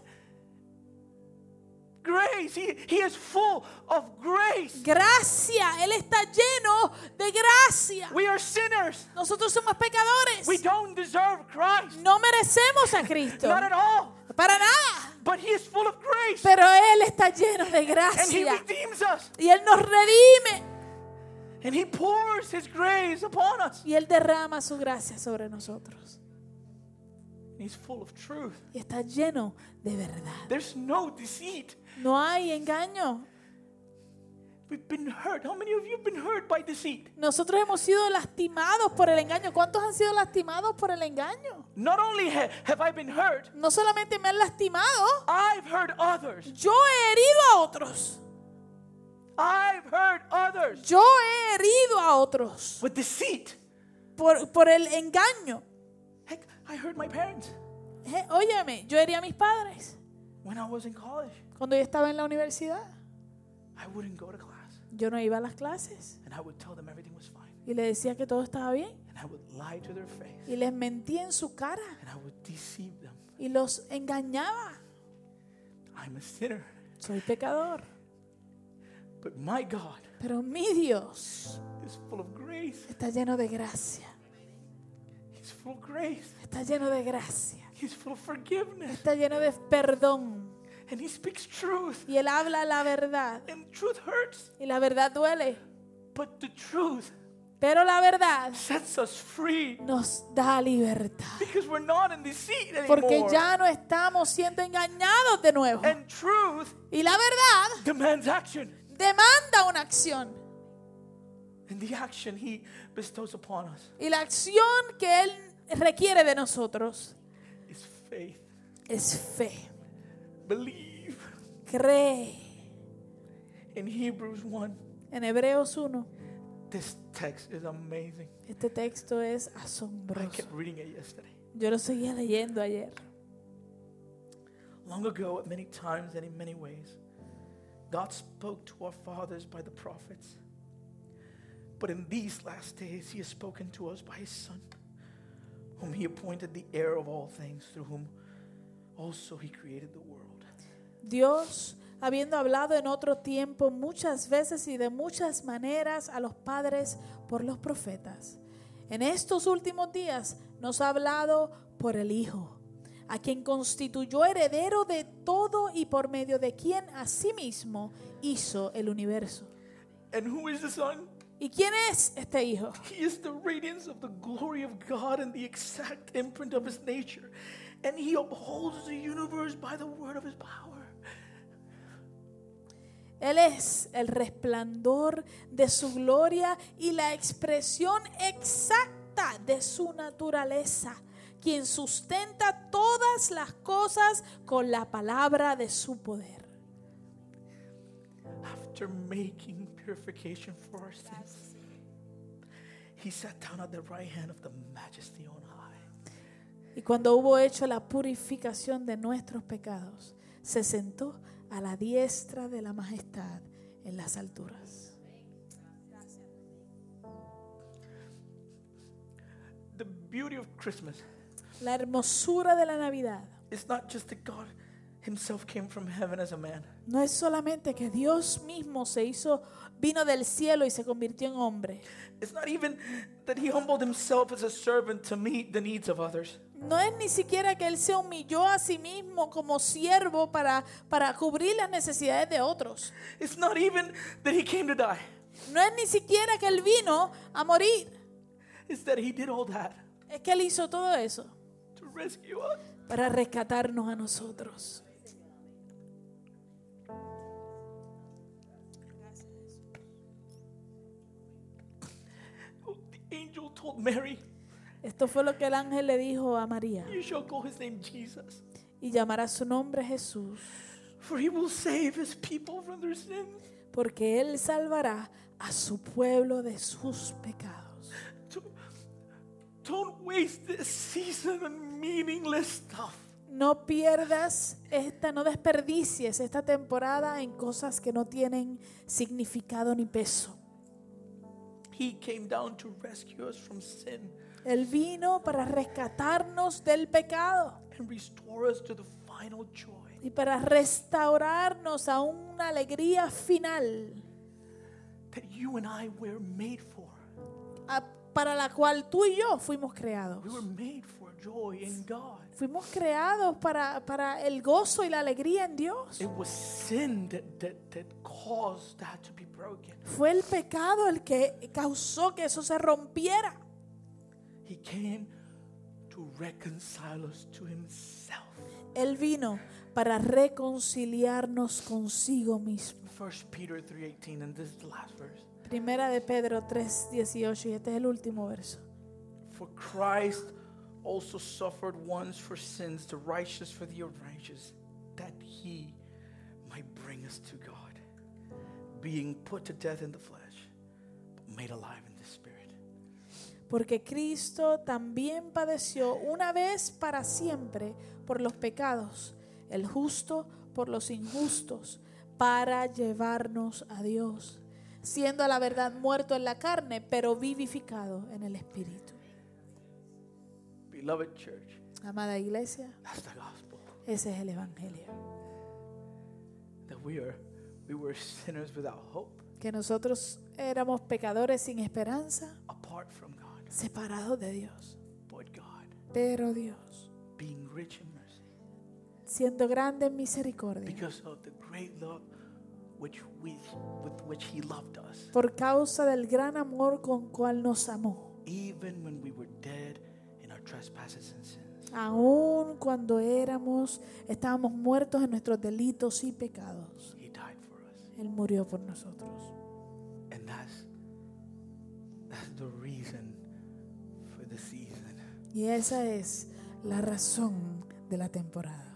Grace, he is full of grace. Gracia, Él está lleno de gracia. We are sinners. Nosotros somos pecadores. We don't deserve Christ. No merecemos a Cristo. Not at all. Para nada. But he is full of grace. Pero Él está lleno de And he gracia. redeems us. Y Él nos redime. And he pours his grace upon us. Y Él derrama su gracia sobre nosotros. And he's full of truth. Y está lleno de verdad. There's no deceit. No hay engaño. We've been hurt. How many of you have been hurt by deceit? Nosotros hemos sido lastimados por el engaño. ¿Cuántos han sido lastimados por el engaño? Not only have I been hurt, No solamente me han lastimado, I've hurt others. yo he herido a otros. I've hurt others Yo he herido a otros with deceit. por el engaño. Heck, I hurt my parents Óyeme, yo herí a mis padres when I was in college. cuando yo estaba en la universidad. I wouldn't go to class. Yo no iba a las clases And I would tell them everything was fine. y les decía que todo estaba bien. And I would lie to their face. Y les mentía en su cara And I would deceive them. y los engañaba. I'm a sinner. Soy pecador. But my God Pero mi Dios is full of grace. está lleno de gracia. He's full of grace. Está lleno de gracia. He's full of forgiveness. Está lleno de perdón. And he speaks truth. Y Él habla la verdad. And truth hurts. Y la verdad duele. But the truth Pero la verdad sets us free. nos da libertad. Because we're not in deceit Porque anymore. ya no estamos siendo engañados de nuevo. And truth Y la verdad demands action. demanda una acción. And the action he bestows upon us Y la acción que Él requiere de nosotros is faith. es fe. Believe. Cree. In Hebrews 1, En Hebreos 1, this text is amazing. este texto es I asombroso. kept reading it yesterday. Yo lo seguía leyendo ayer. Long ago, at many times and in many ways, God spoke to our fathers by the prophets. But in these last days, he has spoken to us by his Son, whom he appointed the heir of all things, through whom also he created the world. Dios, habiendo hablado en otro tiempo muchas veces y de muchas maneras a los padres por los profetas, en estos últimos días nos ha hablado por el Hijo, a quien constituyó heredero de todo y por medio de quien asimismo hizo el universo. And who is the Son? ¿Y quién es este Hijo? He is the radiance of the glory of God and the exact imprint of his nature. And he upholds the universe by the word of his power. Él es el resplandor de su gloria y la expresión exacta de su naturaleza, quien sustenta todas las cosas con la palabra de su poder. After making purification for our sins, he sat down at the right hand of the Majesty on high. Y cuando hubo hecho la purificación de nuestros pecados, se sentó a la diestra de la majestad en las alturas. The beauty of Christmas La hermosura de la Navidad is not just that God himself came from heaven as a man. no es solamente que Dios mismo vino del cielo y se convirtió en hombre. It's not even that he humbled himself as a servant to meet the needs of others. No es ni siquiera que Él se humilló a sí mismo como siervo para cubrir las necesidades de otros. It's not even that he came to die. No es ni siquiera que Él vino a morir. It's that he did all that Es que Él hizo todo eso to rescue us. para rescatarnos a nosotros. The angel told Mary, Esto fue lo que el ángel le dijo a María. you shall call his name Jesus, Y llamará su nombre Jesús, for he will save his people from their sins. porque Él salvará a su pueblo de sus pecados. Don't waste this season on meaningless stuff. No no desperdicies esta temporada en cosas que no tienen significado ni peso. He came down to rescue us from sin Él vino para rescatarnos del pecado and restore us to the final joy y para restaurarnos a una alegría final that you and I were made for. para la cual tú y yo fuimos creados. We were made for joy in God. Fuimos creados para el gozo y la alegría en Dios. It was sin that caused that to be broken. Fue el pecado el que causó que eso se rompiera. He came to reconcile us to himself. Él vino para reconciliarnos consigo mismo. 1 Peter 3:18, and this is the last verse. Primera de Pedro 3:18, y este es el último verso. For Christ also suffered once for sins, the righteous for the unrighteous, that he might bring us to God, being put to death in the flesh, but made alive in the spirit. Porque Cristo también padeció una vez para siempre por los pecados, el justo por los injustos, para llevarnos a Dios, siendo a la verdad muerto en la carne, pero vivificado en el Espíritu. Beloved church, Amada iglesia, that's the gospel. ese es el Evangelio. That we were sinners without hope, Que nosotros éramos pecadores sin esperanza, apart from God, separados de Dios. but God, Pero Dios, being rich in mercy, siendo grande en misericordia, because of the great love with which he loved us, por causa del gran amor con cual nos amó, even when we were dead in our trespasses and sins, aun cuando estábamos muertos en nuestros delitos y pecados, he died for us. Él murió por nosotros. And that's the reason for the season. Y esa es la razón de la temporada.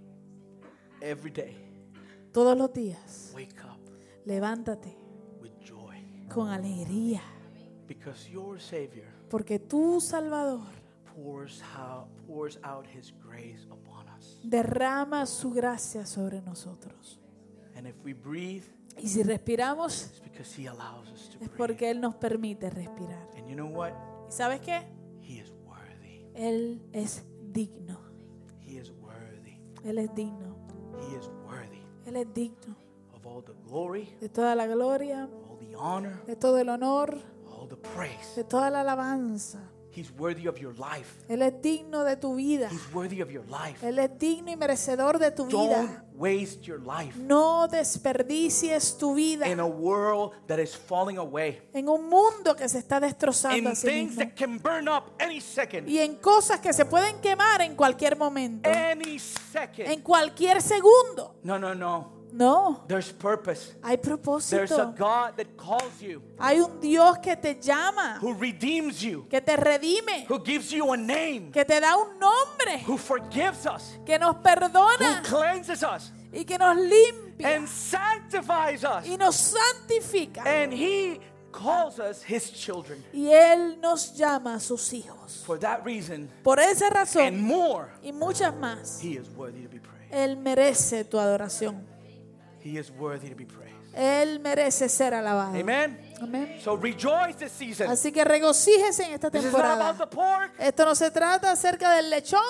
Every day, Todos los días, wake up levántate with joy, con alegría, because your Savior porque tu Salvador pours out his grace upon us. derrama su gracia sobre nosotros. And if we breathe, Y si respiramos, it's because he allows us to es breathe. porque Él nos permite respirar. And you know what? ¿Y sabes qué? He is worthy. Él es digno. He is worthy. Él es digno. He is worthy Él es digno of all the glory, de toda la gloria, all the honor, de todo el honor, all the praise. de toda la alabanza. He's worthy of your life. Él es digno de tu vida. He's worthy of your life. Él es digno y merecedor de tu Don't vida. waste your life No desperdicies tu vida in a world that is falling away, en un mundo que se está destrozando in a sí things mismo that can burn up any second, y en cosas que se pueden quemar en cualquier momento, any en second. cualquier segundo. No. No, There's purpose. hay There's a propósito. God that calls you, Hay un Dios que te llama, who redeems you, que te redime, who gives you a name, que te da un nombre, who forgives us, que nos who perdona cleanses us, y que nos limpia and sanctifies us. y nos santifica. And he calls us his children. Y Él nos llama a sus hijos. For that reason Por esa and razón more, y muchas más, he is worthy to be praised. Él merece tu adoración. He is worthy to be praised. Él merece ser alabado. Amen. Amén. So rejoice this season. Así que regocíjese en esta This is not about temporada. the pork Esto no se trata acerca del lechón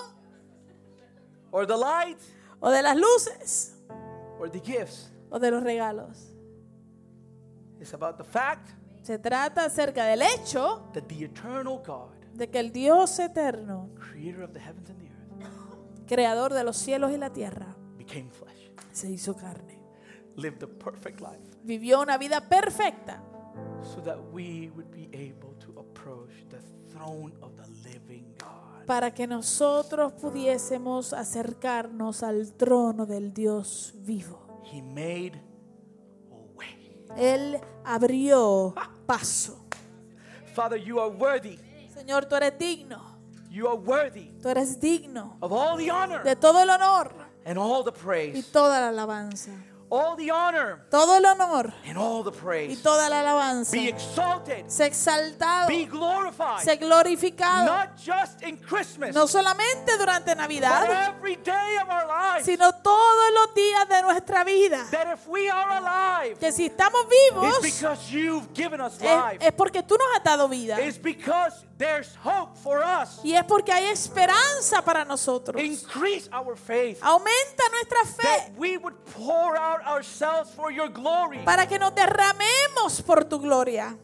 or the lights o de las luces or the gifts. o de los regalos. It's about the fact Se trata acerca del hecho that the eternal God, de que el Dios eterno, creator of the heavens and the earth, creador de los cielos y la tierra, became flesh, se hizo carne. lived a perfect life, Vivió una vida perfecta so that we would be able to approach the throne of the living God. para que nosotros pudiésemos acercarnos al trono del Dios vivo. He made a way. Él abrió paso. Father, you are worthy. Señor, tú eres digno. You are worthy Tú eres digno of all the honor de todo el honor and all the y praise. toda la alabanza. All the honor Todo el honor and all the y praise. toda la alabanza. Be exalted. Sé exaltado, Be glorified. sé glorificado. Not just in Christmas, No solamente durante but Navidad, every day of our lives. sino todos los días de nuestra vida. That if we are alive, Que si estamos it's vivos, because you've given us life. es porque tú nos has dado vida. It's because there's hope for us. Y es porque hay esperanza para nosotros. Increase our faith. Aumenta nuestra That fe we would pour out ourselves for your glory. para que nos derramemos por tu gloria.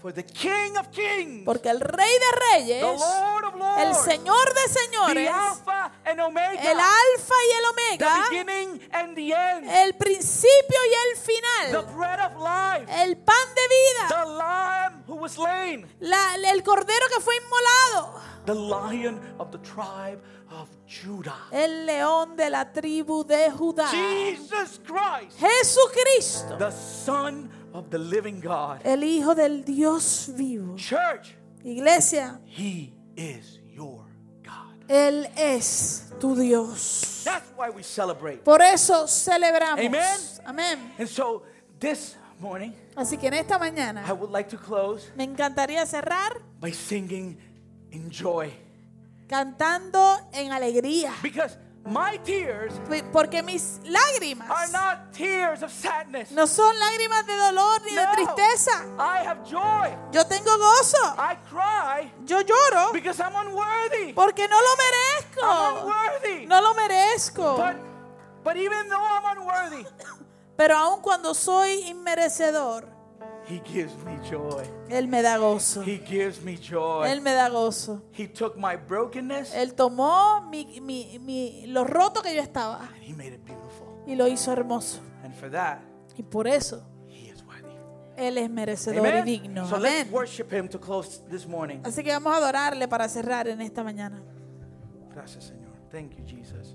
For the King of Kings, Porque el Rey de the Reyes, Lord of Lords, el Señor de the señores, Alpha and Omega, el Alfa y el the Omega, beginning and the end, el principio y el the final, bread of life, el pan de vida, the Lamb who was slain, el Cordero que fue inmolado, the Lion of the tribe of Judah. el león de la tribu de Judá, Jesus Christ, Jesucristo, the Son of the living God. el Hijo del Dios vivo. Church, Iglesia, He is your God. Él es tu Dios. That's why we celebrate. Por eso celebramos. Amen. Amén. And so this morning, Así que en esta I mañana would like to close me encantaría cerrar by singing in joy. cantando en alegría. Because my tears Porque mis are lágrimas not tears of sadness. no son lágrimas de dolor ni de No. tristeza. I have joy. Yo tengo gozo. I cry Yo lloro because I'm unworthy. porque no lo I'm merezco. unworthy. No lo merezco. But even though I'm unworthy, Pero aun cuando soy inmerecedor, He gives me joy. Él me da gozo. He gives me joy. Él me da gozo. He took my brokenness Él tomó lo roto que yo estaba and He made it beautiful. y lo hizo hermoso. And for that, Y por eso He is worthy. Él es merecedor y Amen. digno. So let's Amén. worship Him to close this morning. Así que vamos a adorarle para cerrar en esta mañana. Gracias, Señor. Thank you, Jesus.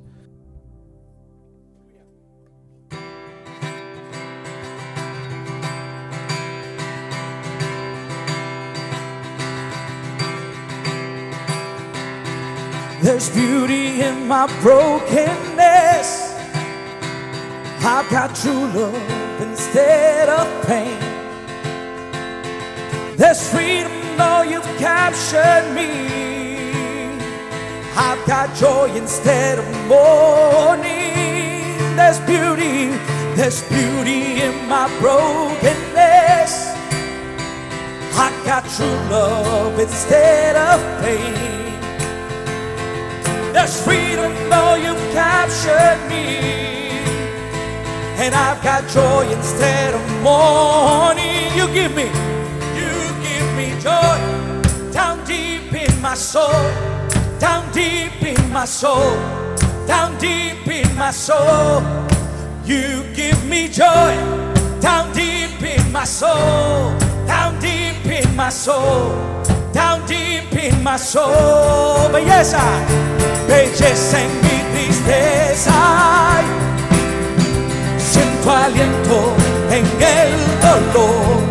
There's beauty in my brokenness. I've got true love instead of pain. There's freedom though you've captured me. I've got joy instead of mourning. There's beauty in my brokenness. I got true love instead of pain. There's freedom though you've captured me, and I've got joy instead of mourning. You give me joy down deep in my soul, down deep in my soul, down deep in my soul. You give me joy down deep in my soul, down deep in my soul, down deep in my soul. Belleza, belleza en mi tristeza. Siento aliento en el dolor.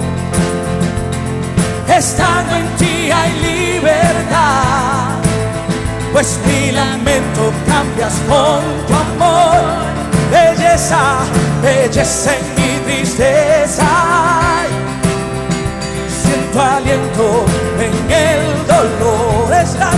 Estando en ti hay libertad, pues mi lamento cambias con tu amor. Belleza, belleza en mi tristeza. Siento aliento en el dolor.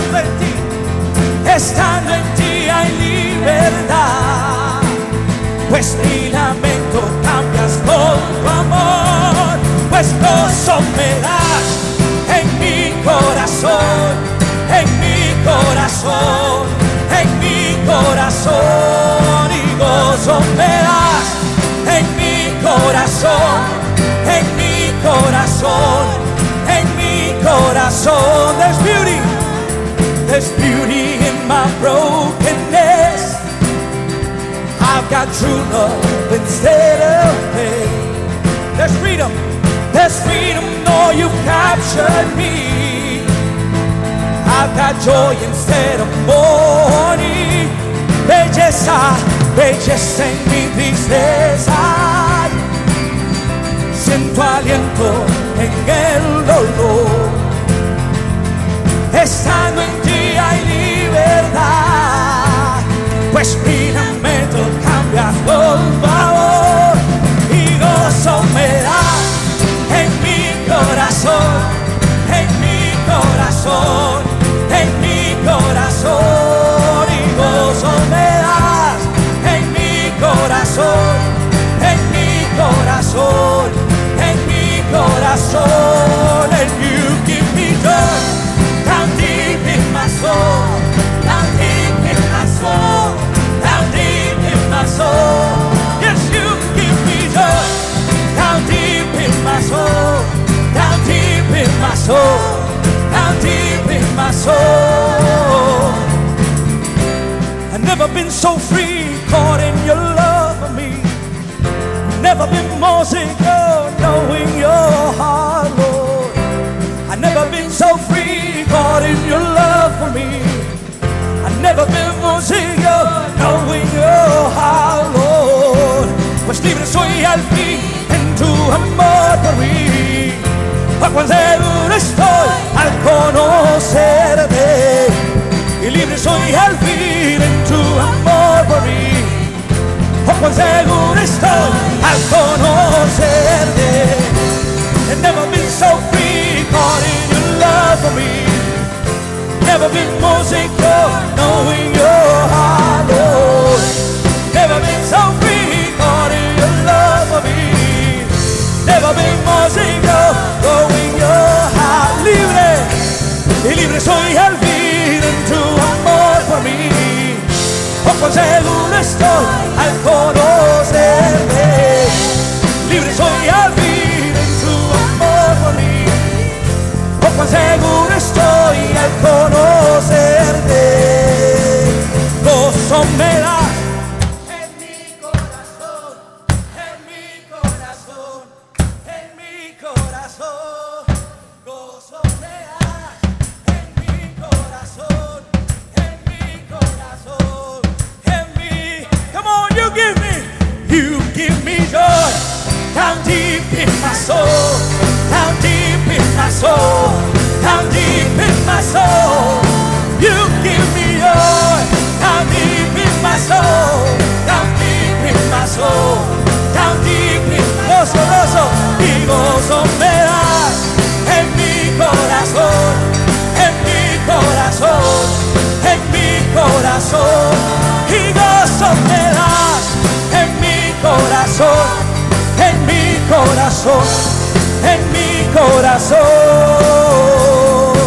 Estando en ti hay libertad, pues mi lamento cambias con tu amor. Pues gozo me das en mi corazón, en mi corazón, en mi corazón. Y gozo me das en mi corazón, en mi corazón, en mi corazón. There's beauty in my brokenness. I've got true love instead of pain. There's freedom though you've captured me. I've got joy instead of mourning. Belleza, belleza en mi tristeza. Siento aliento en el dolor. Estando en ti hay libertad, pues mi lamento cambia por favor. Y gozo me das en mi corazón, en mi corazón, en mi corazón. Y gozo me das en mi corazón, en mi corazón, en mi corazón. And you give me joy down deep in my soul. so free, caught in your love for me. Never been more secure, knowing your heart, Lord. I've never been so free, caught in your love for me. I've never been more secure, knowing your heart, Lord. Pues libre soy al fin en tu amor por mí. Cuán seguro estoy al conocerte. Y libre soy al fin en tu amor por mí. Cuán seguro estoy al conocerte. I've never been so free, caught in your love for me. Never been more secure, knowing your heart, Lord. Never been so free, caught in your love for me. Never been more secure, knowing your heart. Libre, y libre soy al fin en tu amor por mí. Cuán seguro estoy al conocerte. Libre soy al fin en tu amor por mí. Cuán seguro estoy al conocerte. Gozo me da en mi corazón, en mi corazón, en mi corazón. Gozo me da en mi corazón, en mi corazón, en mi. Come on, you give me joy down deep in my soul, down deep in my soul, down deep in my soul. You give me joy down deep in my soul, down deep in my soul, down deep in my gozo, gozo y gozo me das en mi corazón, en mi corazón, en mi corazón y gozo me das en mi corazón, en mi corazón, en mi corazón.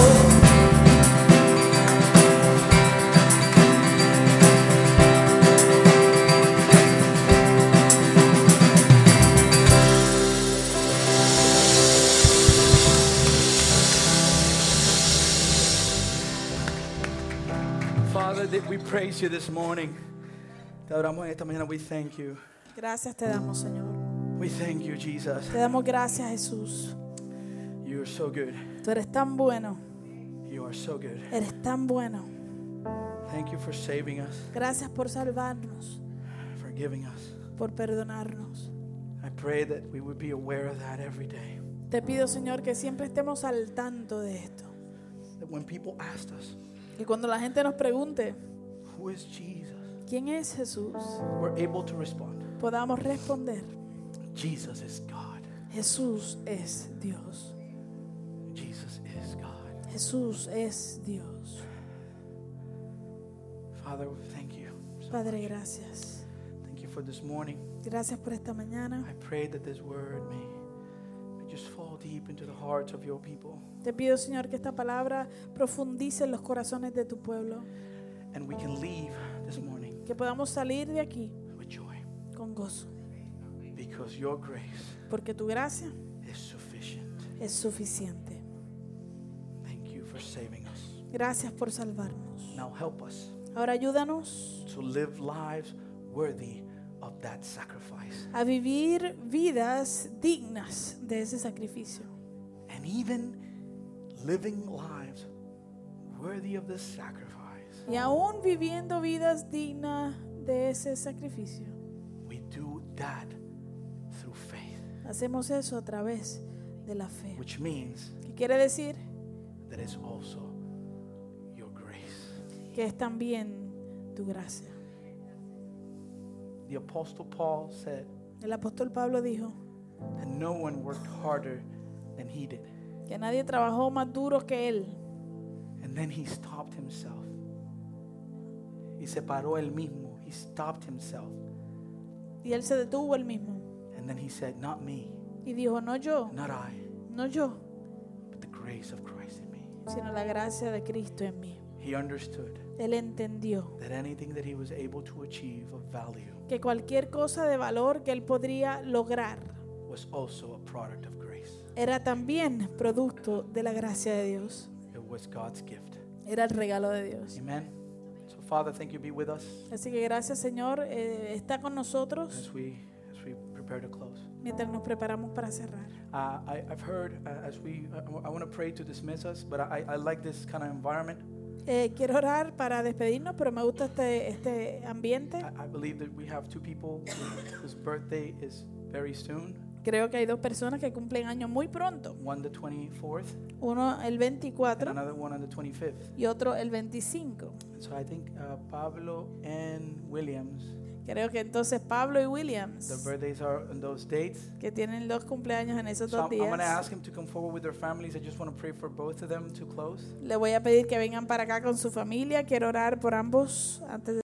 Father, that we praise you this morning. Te adoramos esta mañana. We thank you. Gracias te damos, Señor. We thank you, Jesus. Te damos gracias, Jesús. You are so good. Tú eres tan bueno. You are so good. Eres tan bueno. Thank you for saving us, Gracias por salvarnos, for giving us. por perdonarnos. I pray that we would be aware of that every day. Te pido, Señor, que siempre estemos al tanto de esto. That when people ask us, Que cuando la gente nos pregunte, who is Jesus? ¿quién es Jesús?, We're able to respond. podamos responder, Jesus is God. Jesús es Dios. Jesus is God. Jesús es Dios. Father, thank you. Padre, gracias. Thank you for this morning. Gracias por esta mañana. I pray that this word may just fall deep into the hearts of your people. Te pido, Señor, que esta palabra profundice en los corazones de tu pueblo. And we can leave this morning Que podamos salir de aquí with joy. con gozo. Because your grace Porque tu gracia is sufficient. es suficiente. Thank you for saving us. Gracias por salvarnos. Now help us Ahora ayúdanos to live lives worthy of that sacrifice. a vivir vidas dignas de ese sacrificio. And even living lives worthy of this sacrifice, Y aún viviendo vidas dignas de ese sacrificio, we do that through faith, hacemos eso a través de la fe. which means ¿Qué quiere decir? that it's also your grace. Que es también tu gracia. The Apostle Paul said El apóstol Pablo dijo that no one worked harder than he did. que nadie trabajó más duro que él. And then he stopped himself. Y se paró él mismo. He stopped himself. Y él se detuvo él mismo. And then he said, not me, Y dijo, no yo, not I, no yo, but the grace of Christ in me. sino la gracia de Cristo en mí. He understood Él entendió that anything that he was able to achieve of value que cualquier cosa de valor que él podría lograr was also a product of grace. era también producto de la gracia de Dios. It was God's gift. Era el regalo de Dios. Amen. So Father, thank you be with us Así que gracias, Señor. Está con nosotros as we prepare to close. mientras nos preparamos para cerrar. I've heard I want to pray to dismiss us, but I like this kind of environment. Quiero orar para despedirnos, pero me gusta este ambiente. I believe that we have two people whose birthday is very soon. Creo que hay dos personas que cumplen años muy pronto. One the 24th Uno el and 24 another one on the 25th. y otro el 25. And so I think Pablo and Williams, Creo que entonces Pablo y their Williams, birthdays are on those dates. que tienen dos cumpleaños en esos So dos I'm going to días, ask him to come forward with their families. I just want to pray for both of them to close. le voy a pedir que vengan para acá con su familia. Quiero orar por ambos antes de